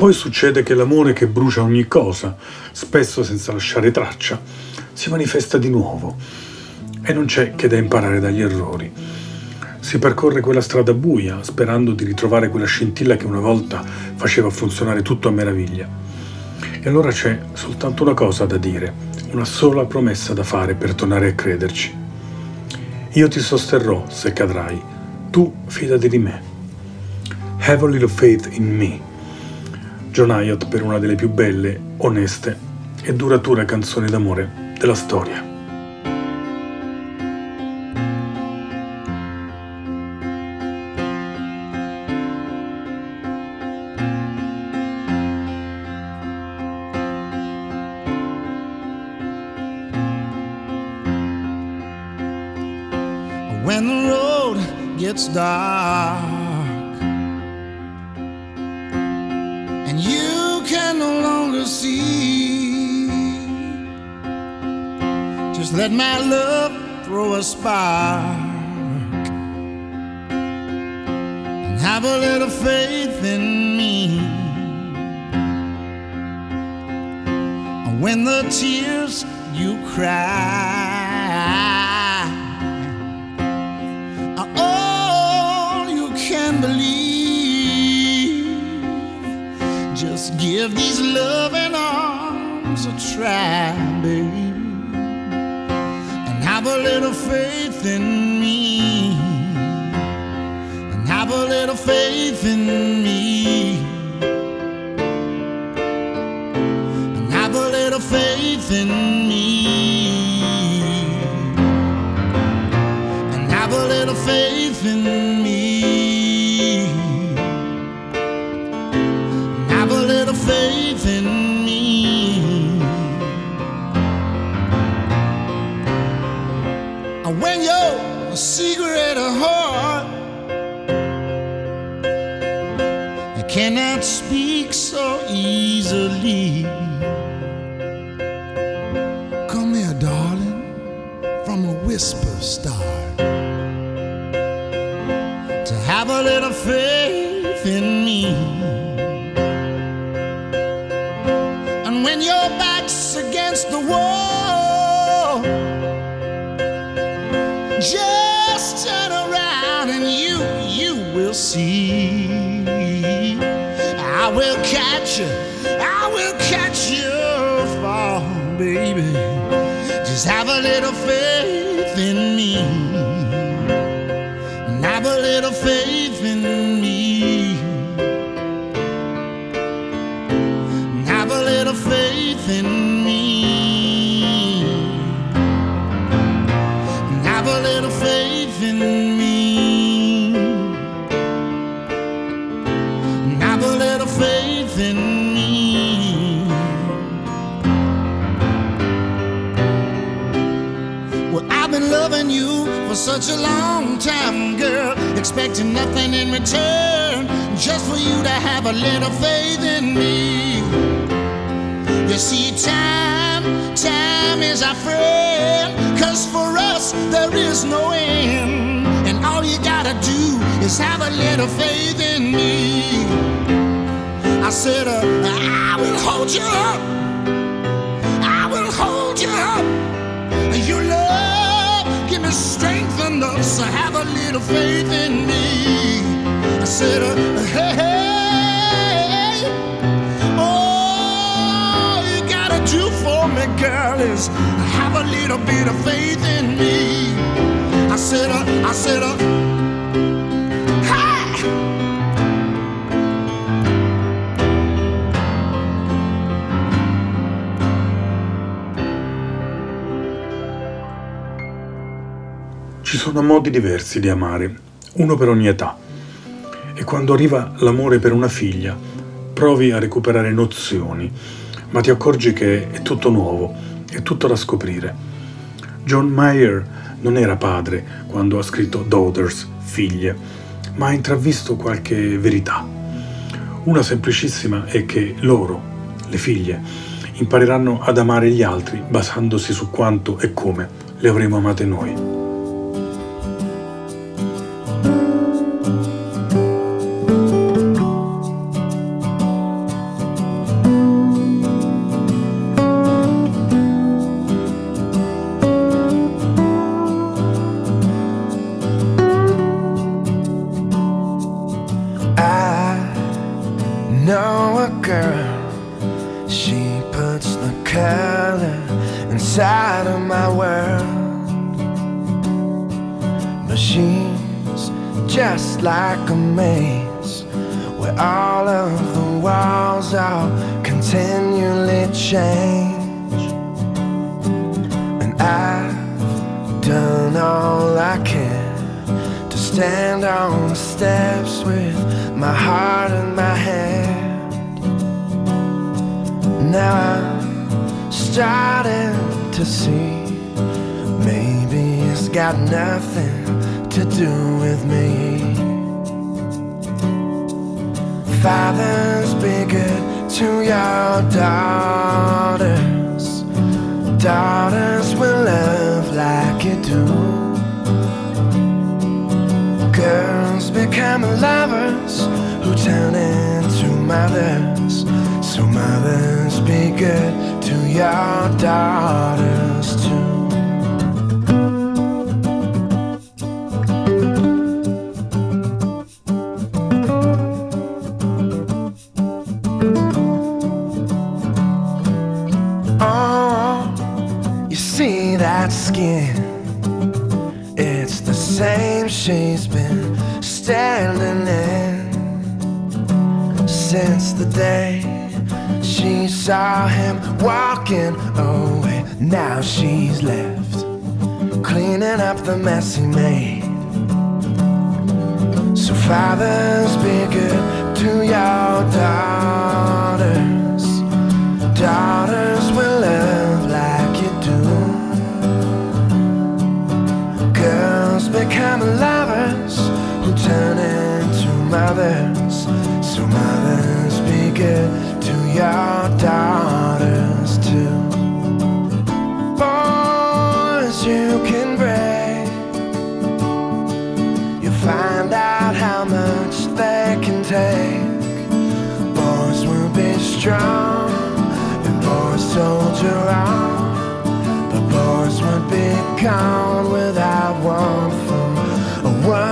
poi succede che l'amore che brucia ogni cosa, spesso senza lasciare traccia, si manifesta di nuovo e non c'è che da imparare dagli errori. Si percorre quella strada buia sperando di ritrovare quella scintilla che una volta faceva funzionare tutto a meraviglia. E allora c'è soltanto una cosa da dire, una sola promessa da fare per tornare a crederci. Io ti sosterrò se cadrai, tu fidati di me. Have a little faith in me. John Hiatt per una delle più belle, oneste e durature canzoni d'amore della storia. When the road gets dark and you can no longer see, just let my love throw a spark and have a little faith in me. And when the tears you cry believe, just give these loving arms a try, baby, and have a little faith in me, and have a little faith in me, and have a little faith in me, and have a little faith in me. Faith in me. When your secret heart cannot speak so easily, come here, darling, from a whisper start to have a little faith in me. When your back's against the wall, just turn around and you will see. I will catch you fall, baby. Just have a little faith in me, and have a little faith in me. Faith in me, have a little faith in me, have a little faith in me. Well, I've been loving you for such a long time, girl, expecting nothing in return, just for you to have a little faith in me. You see, time is our friend, 'cause for us there is no end. And all you gotta do is have a little faith in me. I said, I will hold you up, I will hold you up. Your love, give me strength enough, so have a little faith in me. I said, hey, hey. Do for me, girl, is have a little bit of faith in me. I said, hi. Ci sono modi diversi di amare, uno per ogni età. E quando arriva l'amore per una figlia, provi a recuperare nozioni, ma ti accorgi che è tutto nuovo, è tutto da scoprire. John Mayer non era padre quando ha scritto Daughters, figlie, ma ha intravisto qualche verità. Una semplicissima è che loro, le figlie, impareranno ad amare gli altri basandosi su quanto e come le avremo amate noi. puts the color inside of my world. But she's just like a maze where all of the walls are continually change. And I've done all I can to stand on the steps with my heart in my hand. Now I'm starting to see maybe it's got nothing to do with me. Fathers, be good to your daughters. Daughters will love like you do. Girls become lovers who turn into mothers. So mothers, be good to your daughters too. Skin, it's the same she's been standing in since the day she saw him walking away. Now she's left cleaning up the mess he made. So fathers, be good to your daughters. Daughters will love like you do. Girls become lovers who turn into mothers. So mothers, be good to your daughters too. Boys, you can break. You find out how much they can take. Boys will be strong and boys soldier on. But boys would be gone without one from a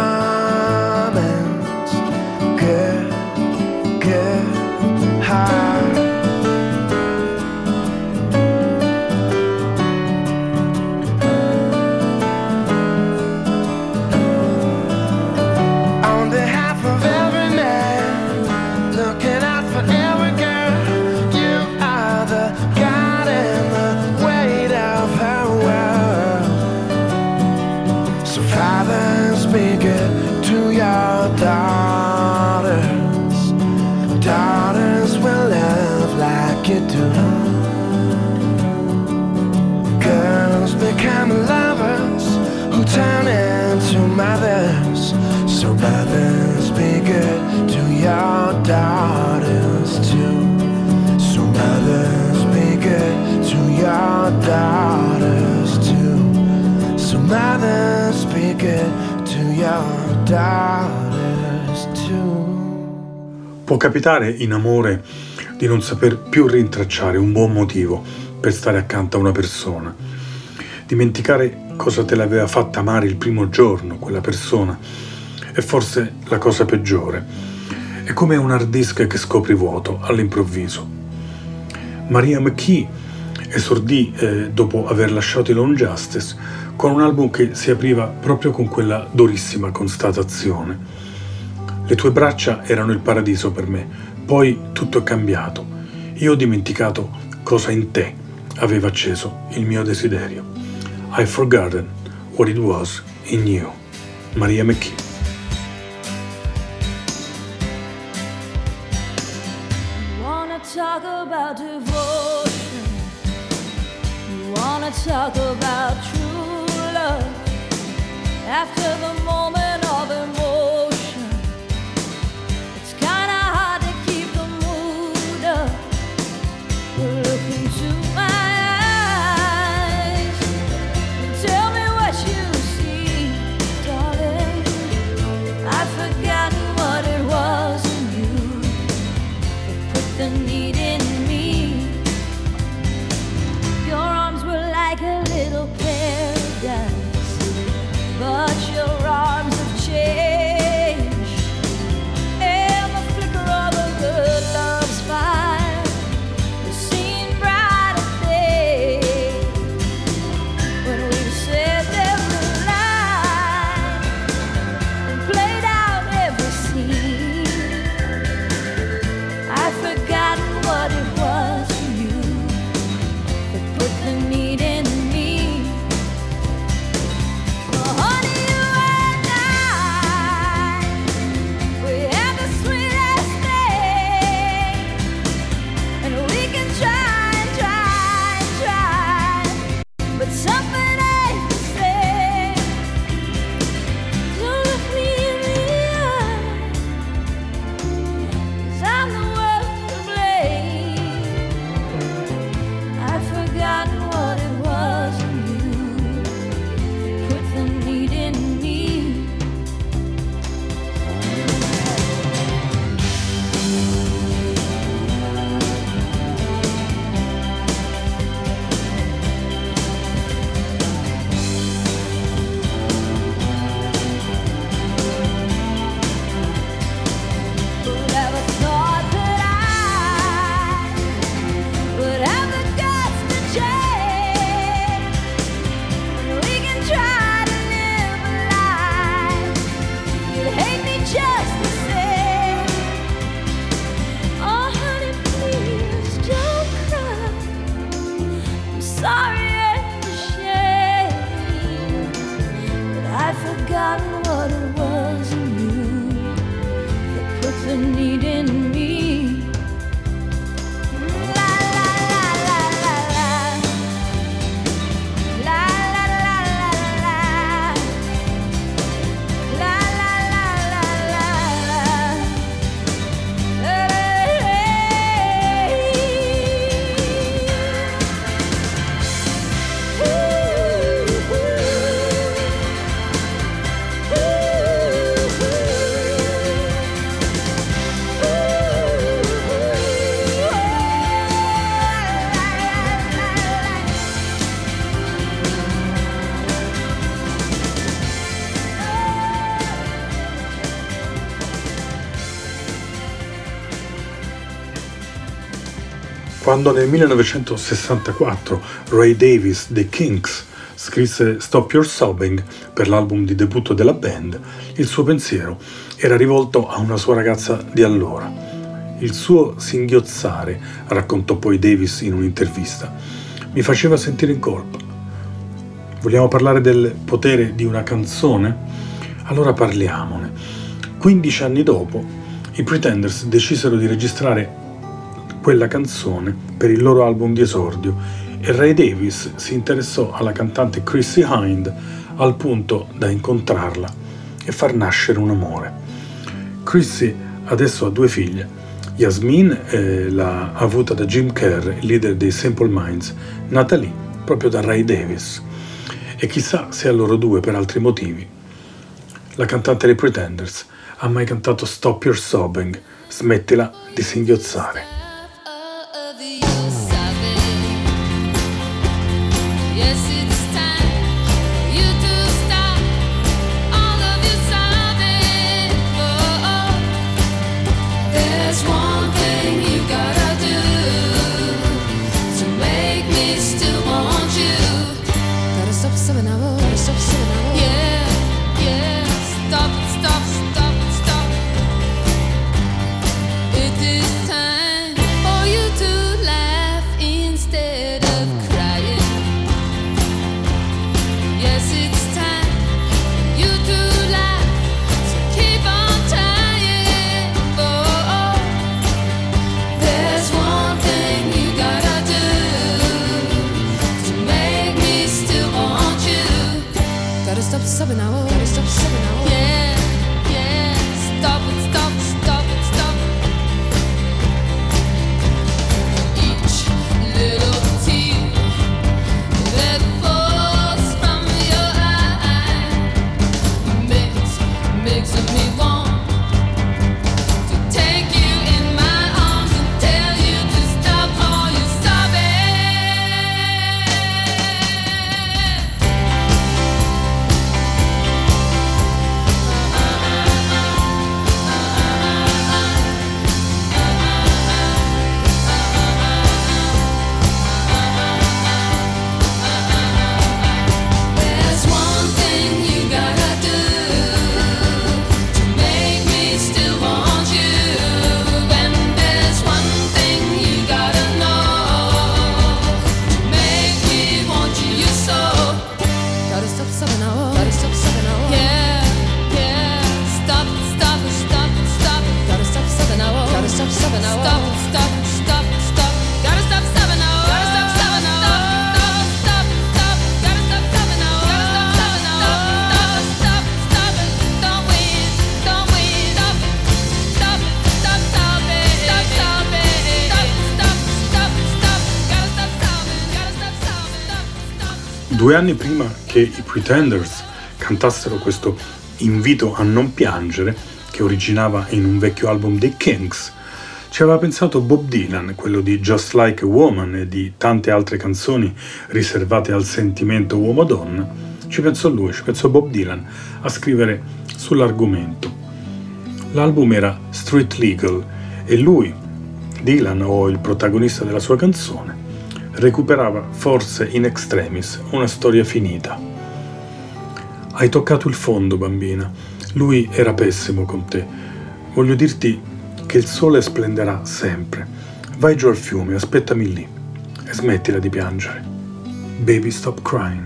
woman's good, good heart. On behalf of every man, looking out for every girl, you are the God and the weight of her world. So fathers, be good to your daughters. Daughters will love like you do. Girls become lovers who turn into mothers. So mothers, be good to your daughters too. So mothers, be good to your daughters too. So mothers, be good to your daughters too. Può capitare in amore di non saper più rintracciare un buon motivo per stare accanto a una persona. Dimenticare cosa te l'aveva fatta amare il primo giorno quella persona è forse la cosa peggiore. È come un hard disk che scopri vuoto all'improvviso. Mariah McKee esordì dopo aver lasciato i Lone Justice con un album che si apriva proprio con quella durissima constatazione: le tue braccia erano il paradiso per me, poi tutto è cambiato. Io ho dimenticato cosa in te aveva acceso il mio desiderio. I've forgotten what it was in you. Mariah McKee. Talk about devotion. You wanna talk about true love. After the moment of emotion, it's kinda hard to keep the mood up. Look into my eyes and tell me what you see, darling. I've forgotten what it was in you that put the need in me. Your arms were like a little paradise, but your arms have changed. And the flicker of a good love's fire has seen bright sorry and ashamed, but I've forgotten what it was in you that put the need in me. Quando nel 1964 Ray Davies dei Kinks scrisse Stop Your Sobbing per l'album di debutto della band, il suo pensiero era rivolto a una sua ragazza di allora. Il suo singhiozzare, raccontò poi Davies in un'intervista, mi faceva sentire in colpa. Vogliamo parlare del potere di una canzone? Allora parliamone. 15 anni dopo, i Pretenders decisero di registrare quella canzone per il loro album di esordio e Ray Davies si interessò alla cantante Chrissie Hynde al punto da incontrarla e far nascere un amore. Chrissie adesso ha 2 figlie. Yasmin l'ha avuta da Jim Kerr, leader dei Simple Minds, nata lì proprio da Ray Davies. E chissà se a loro 2 per altri motivi. La cantante dei Pretenders ha mai cantato Stop Your Sobbing, smettila di singhiozzare. Due anni prima che i Pretenders cantassero questo invito a non piangere, che originava in un vecchio album dei Kinks, ci aveva pensato Bob Dylan, quello di Just Like a Woman e di tante altre canzoni riservate al sentimento uomo-donna. Ci pensò lui, ci pensò Bob Dylan a scrivere sull'argomento. L'album era Street Legal e lui, Dylan o il protagonista della sua canzone, recuperava forse in extremis una storia finita. Hai toccato il fondo, bambina. Lui era pessimo con te. Voglio dirti che il sole splenderà sempre. Vai giù al fiume, aspettami lì e smettila di piangere. Baby Stop Crying.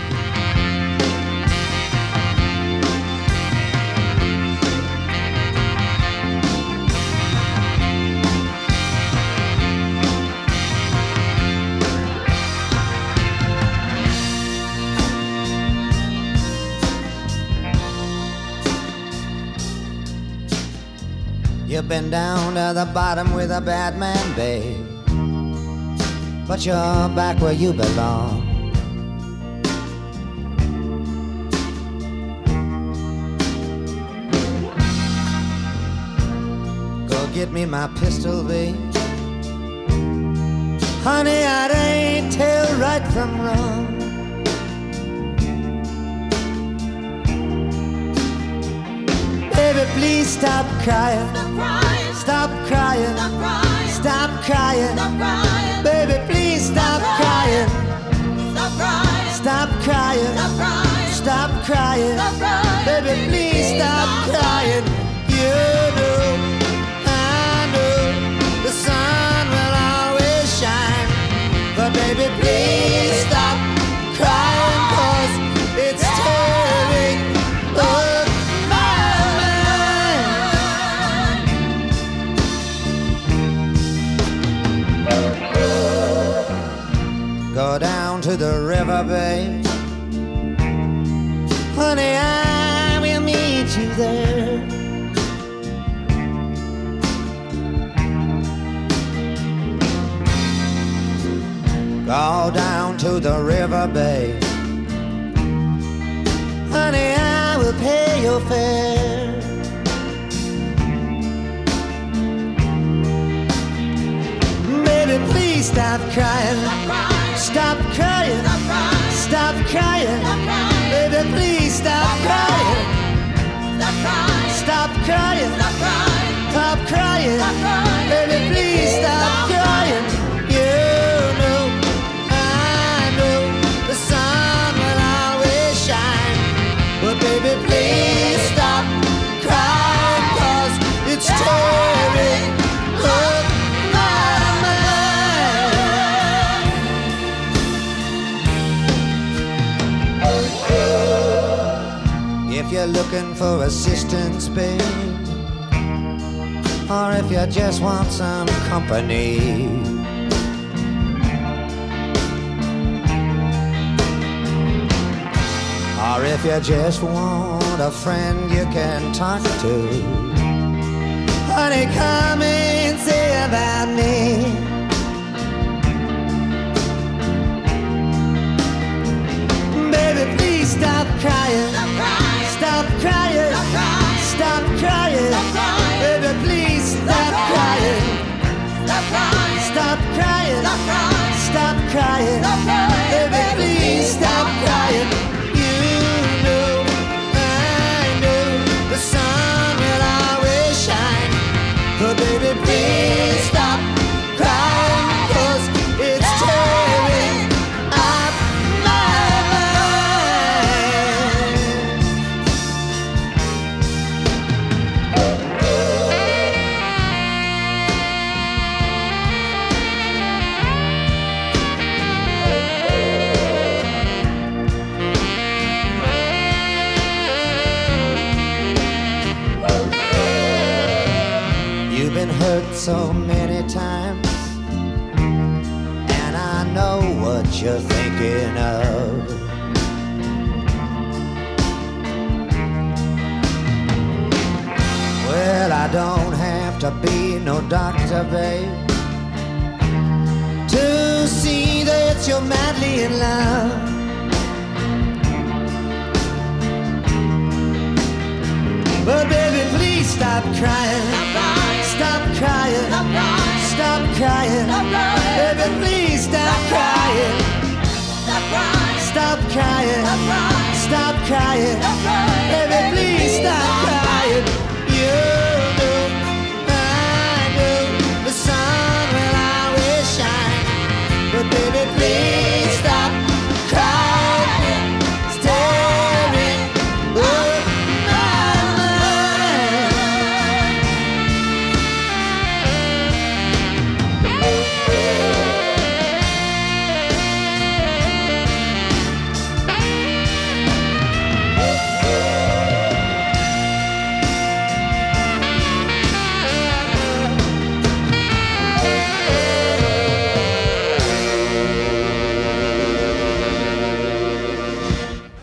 You've been down to the bottom with a bad man, babe, but you're back where you belong. Go get me my pistol, babe. Honey, I ain't tell right from wrong. Baby, please stop crying. Stop crying. Stop crying. Baby, please stop crying. Stop crying. Stop crying. Baby, please stop crying. You know, I know the sun will always shine. But baby, please stop crying, 'cause it's tearing up my mind. Go down to the river, babe. Honey, I will meet you there. Go down to the river, babe. Honey, I will pay your fare. Baby, please stop crying. Stop crying. Stop crying. Baby, please stop crying. Stop crying. Stop crying. Baby, please stop crying. You know, I know the sun will always shine. But baby, please stop crying, 'cause it's tearing up my mind. If you're looking for assistance, babe, or if you just want some company, or if you just want a friend you can talk to, honey, come and say about me. Baby, please stop crying. Stop crying. Stop crying. Baby, please stop crying. Stop crying. Stop crying. Baby, please stop crying. You know, I know the sun will always shine. But baby, please stop crying, 'cause it's tearing up my mind. You've been hurt so many times, and I know what you're thinking of. Well, I don't have to be no doctor, babe, to see that you're madly in love. But baby, please stop crying. Stop crying. Stop crying. Baby, please stop crying. Stop crying. Stop crying. Baby, please stop crying. You know, I know the sun will always shine. But baby, please stop crying. It's tearing up my mind.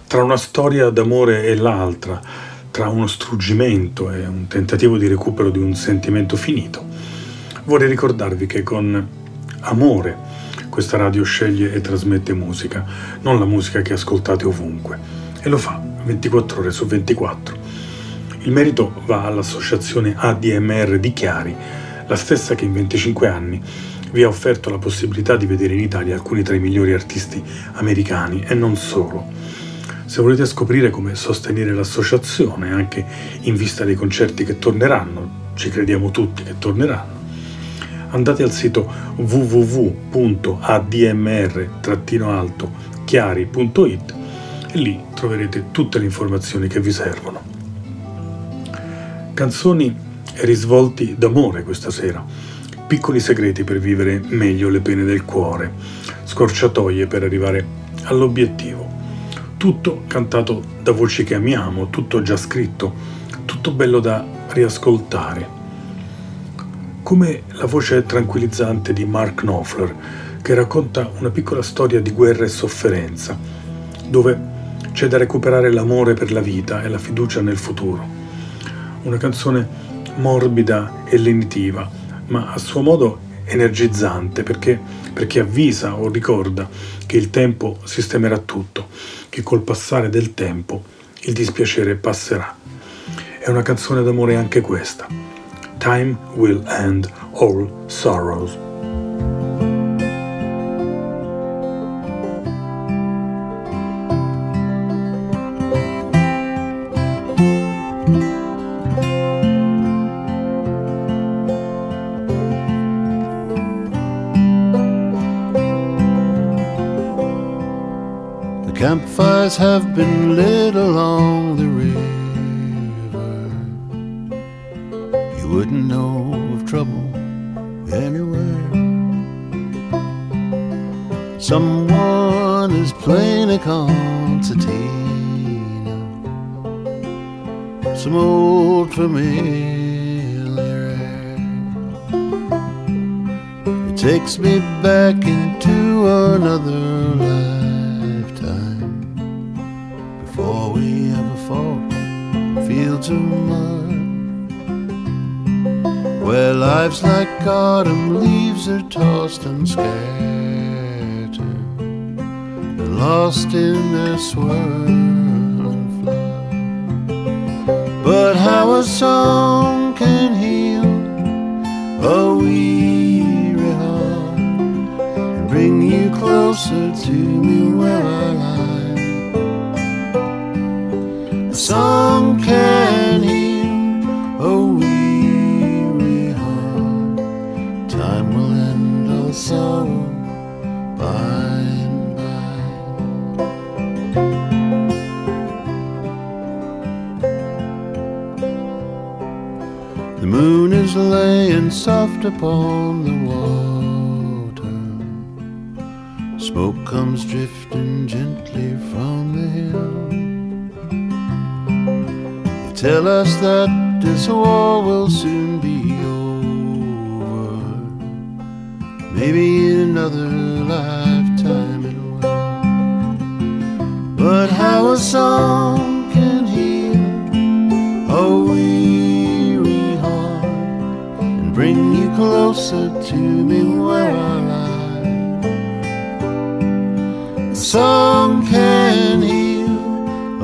Tra una storia d'amore e l'altra, tra uno struggimento e un tentativo di recupero di un sentimento finito, vorrei ricordarvi che con amore questa radio sceglie e trasmette musica, non la musica che ascoltate ovunque, e lo fa 24 ore su 24. Il merito va all'associazione ADMR di Chiari, la stessa che in 25 anni vi ha offerto la possibilità di vedere in Italia alcuni tra i migliori artisti americani e non solo. Se volete scoprire come sostenere l'associazione, anche in vista dei concerti che torneranno, ci crediamo tutti che torneranno, andate al sito www.admr-chiari.it e lì troverete tutte le informazioni che vi servono. Canzoni e risvolti d'amore questa sera, piccoli segreti per vivere meglio le pene del cuore, scorciatoie per arrivare all'obiettivo. Tutto cantato da voci che amiamo, tutto già scritto, tutto bello da riascoltare. Come la voce tranquillizzante di Mark Knopfler, che racconta una piccola storia di guerra e sofferenza, dove c'è da recuperare l'amore per la vita e la fiducia nel futuro. Una canzone morbida e lenitiva, ma a suo modo energizzante, perché avvisa o ricorda che il tempo sistemerà tutto, che col passare del tempo il dispiacere passerà. È una canzone d'amore anche questa. Time will end all sorrows. Campfires have been lit along the river. You wouldn't know of trouble anywhere. Someone is playing a concertina, some old familiar air. It takes me back into another life, before we ever fought fields of mud, where life's like autumn leaves are tossed and scattered and lost in their swirling flood. But how a song can heal a weary heart and bring you closer to me where I lie. A song can heal a weary heart. Time will end all sorrow by and by. The moon is laying soft upon the water. Smoke comes drifting gently from the hill. Tell us that this war will soon be over. Maybe in another lifetime it will. But how a song can heal a weary heart and bring you closer to me where I lie. A song can heal a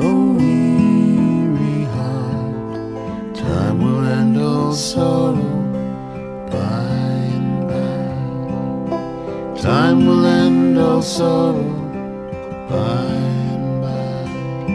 sorrow by and by. Time will end all sorrow by and by.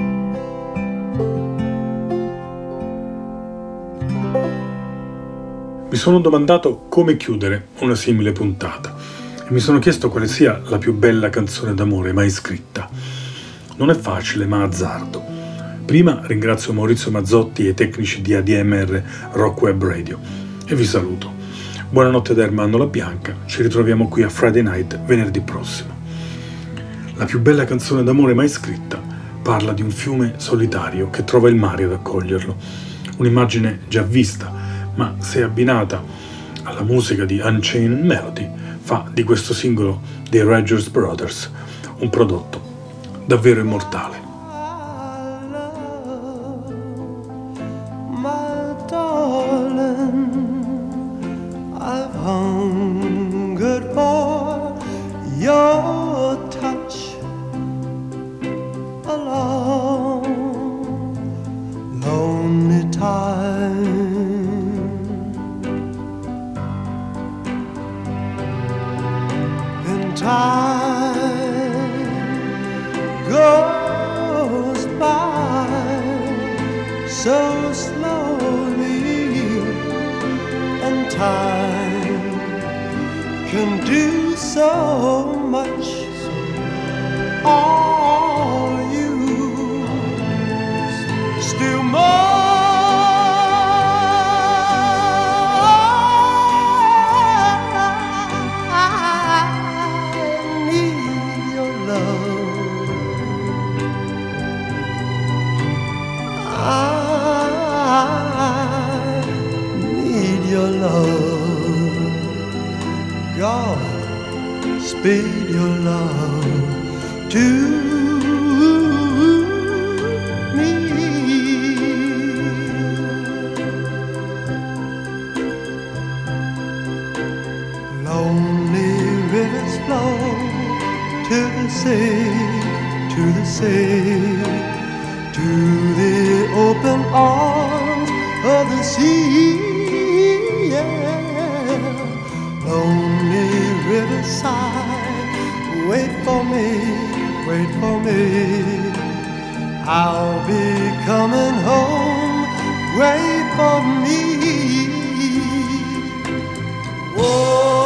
Mi sono domandato come chiudere una simile puntata e mi sono chiesto quale sia la più bella canzone d'amore mai scritta. Non è facile, ma azzardo. Prima ringrazio Maurizio Mazzotti e i tecnici di ADMR Rock Web Radio e vi saluto. Buonanotte da Ermanno La Bianca, ci ritroviamo qui a Friday Night venerdì prossimo. La più bella canzone d'amore mai scritta parla di un fiume solitario che trova il mare ad accoglierlo. Un'immagine già vista, ma se abbinata alla musica di Unchained Melody fa di questo singolo dei Rogers Brothers un prodotto davvero immortale. your touch a long, lonely time. And time goes by so slowly, and time can do so much. Are you still more? I need your love. I need your love. God, speed your love to me. Lonely rivers flow to the sea, to the sea, to the open arms of the sea. Yeah. Lonely riverside, wait for me, wait for me. I'll be coming home, wait for me. Whoa.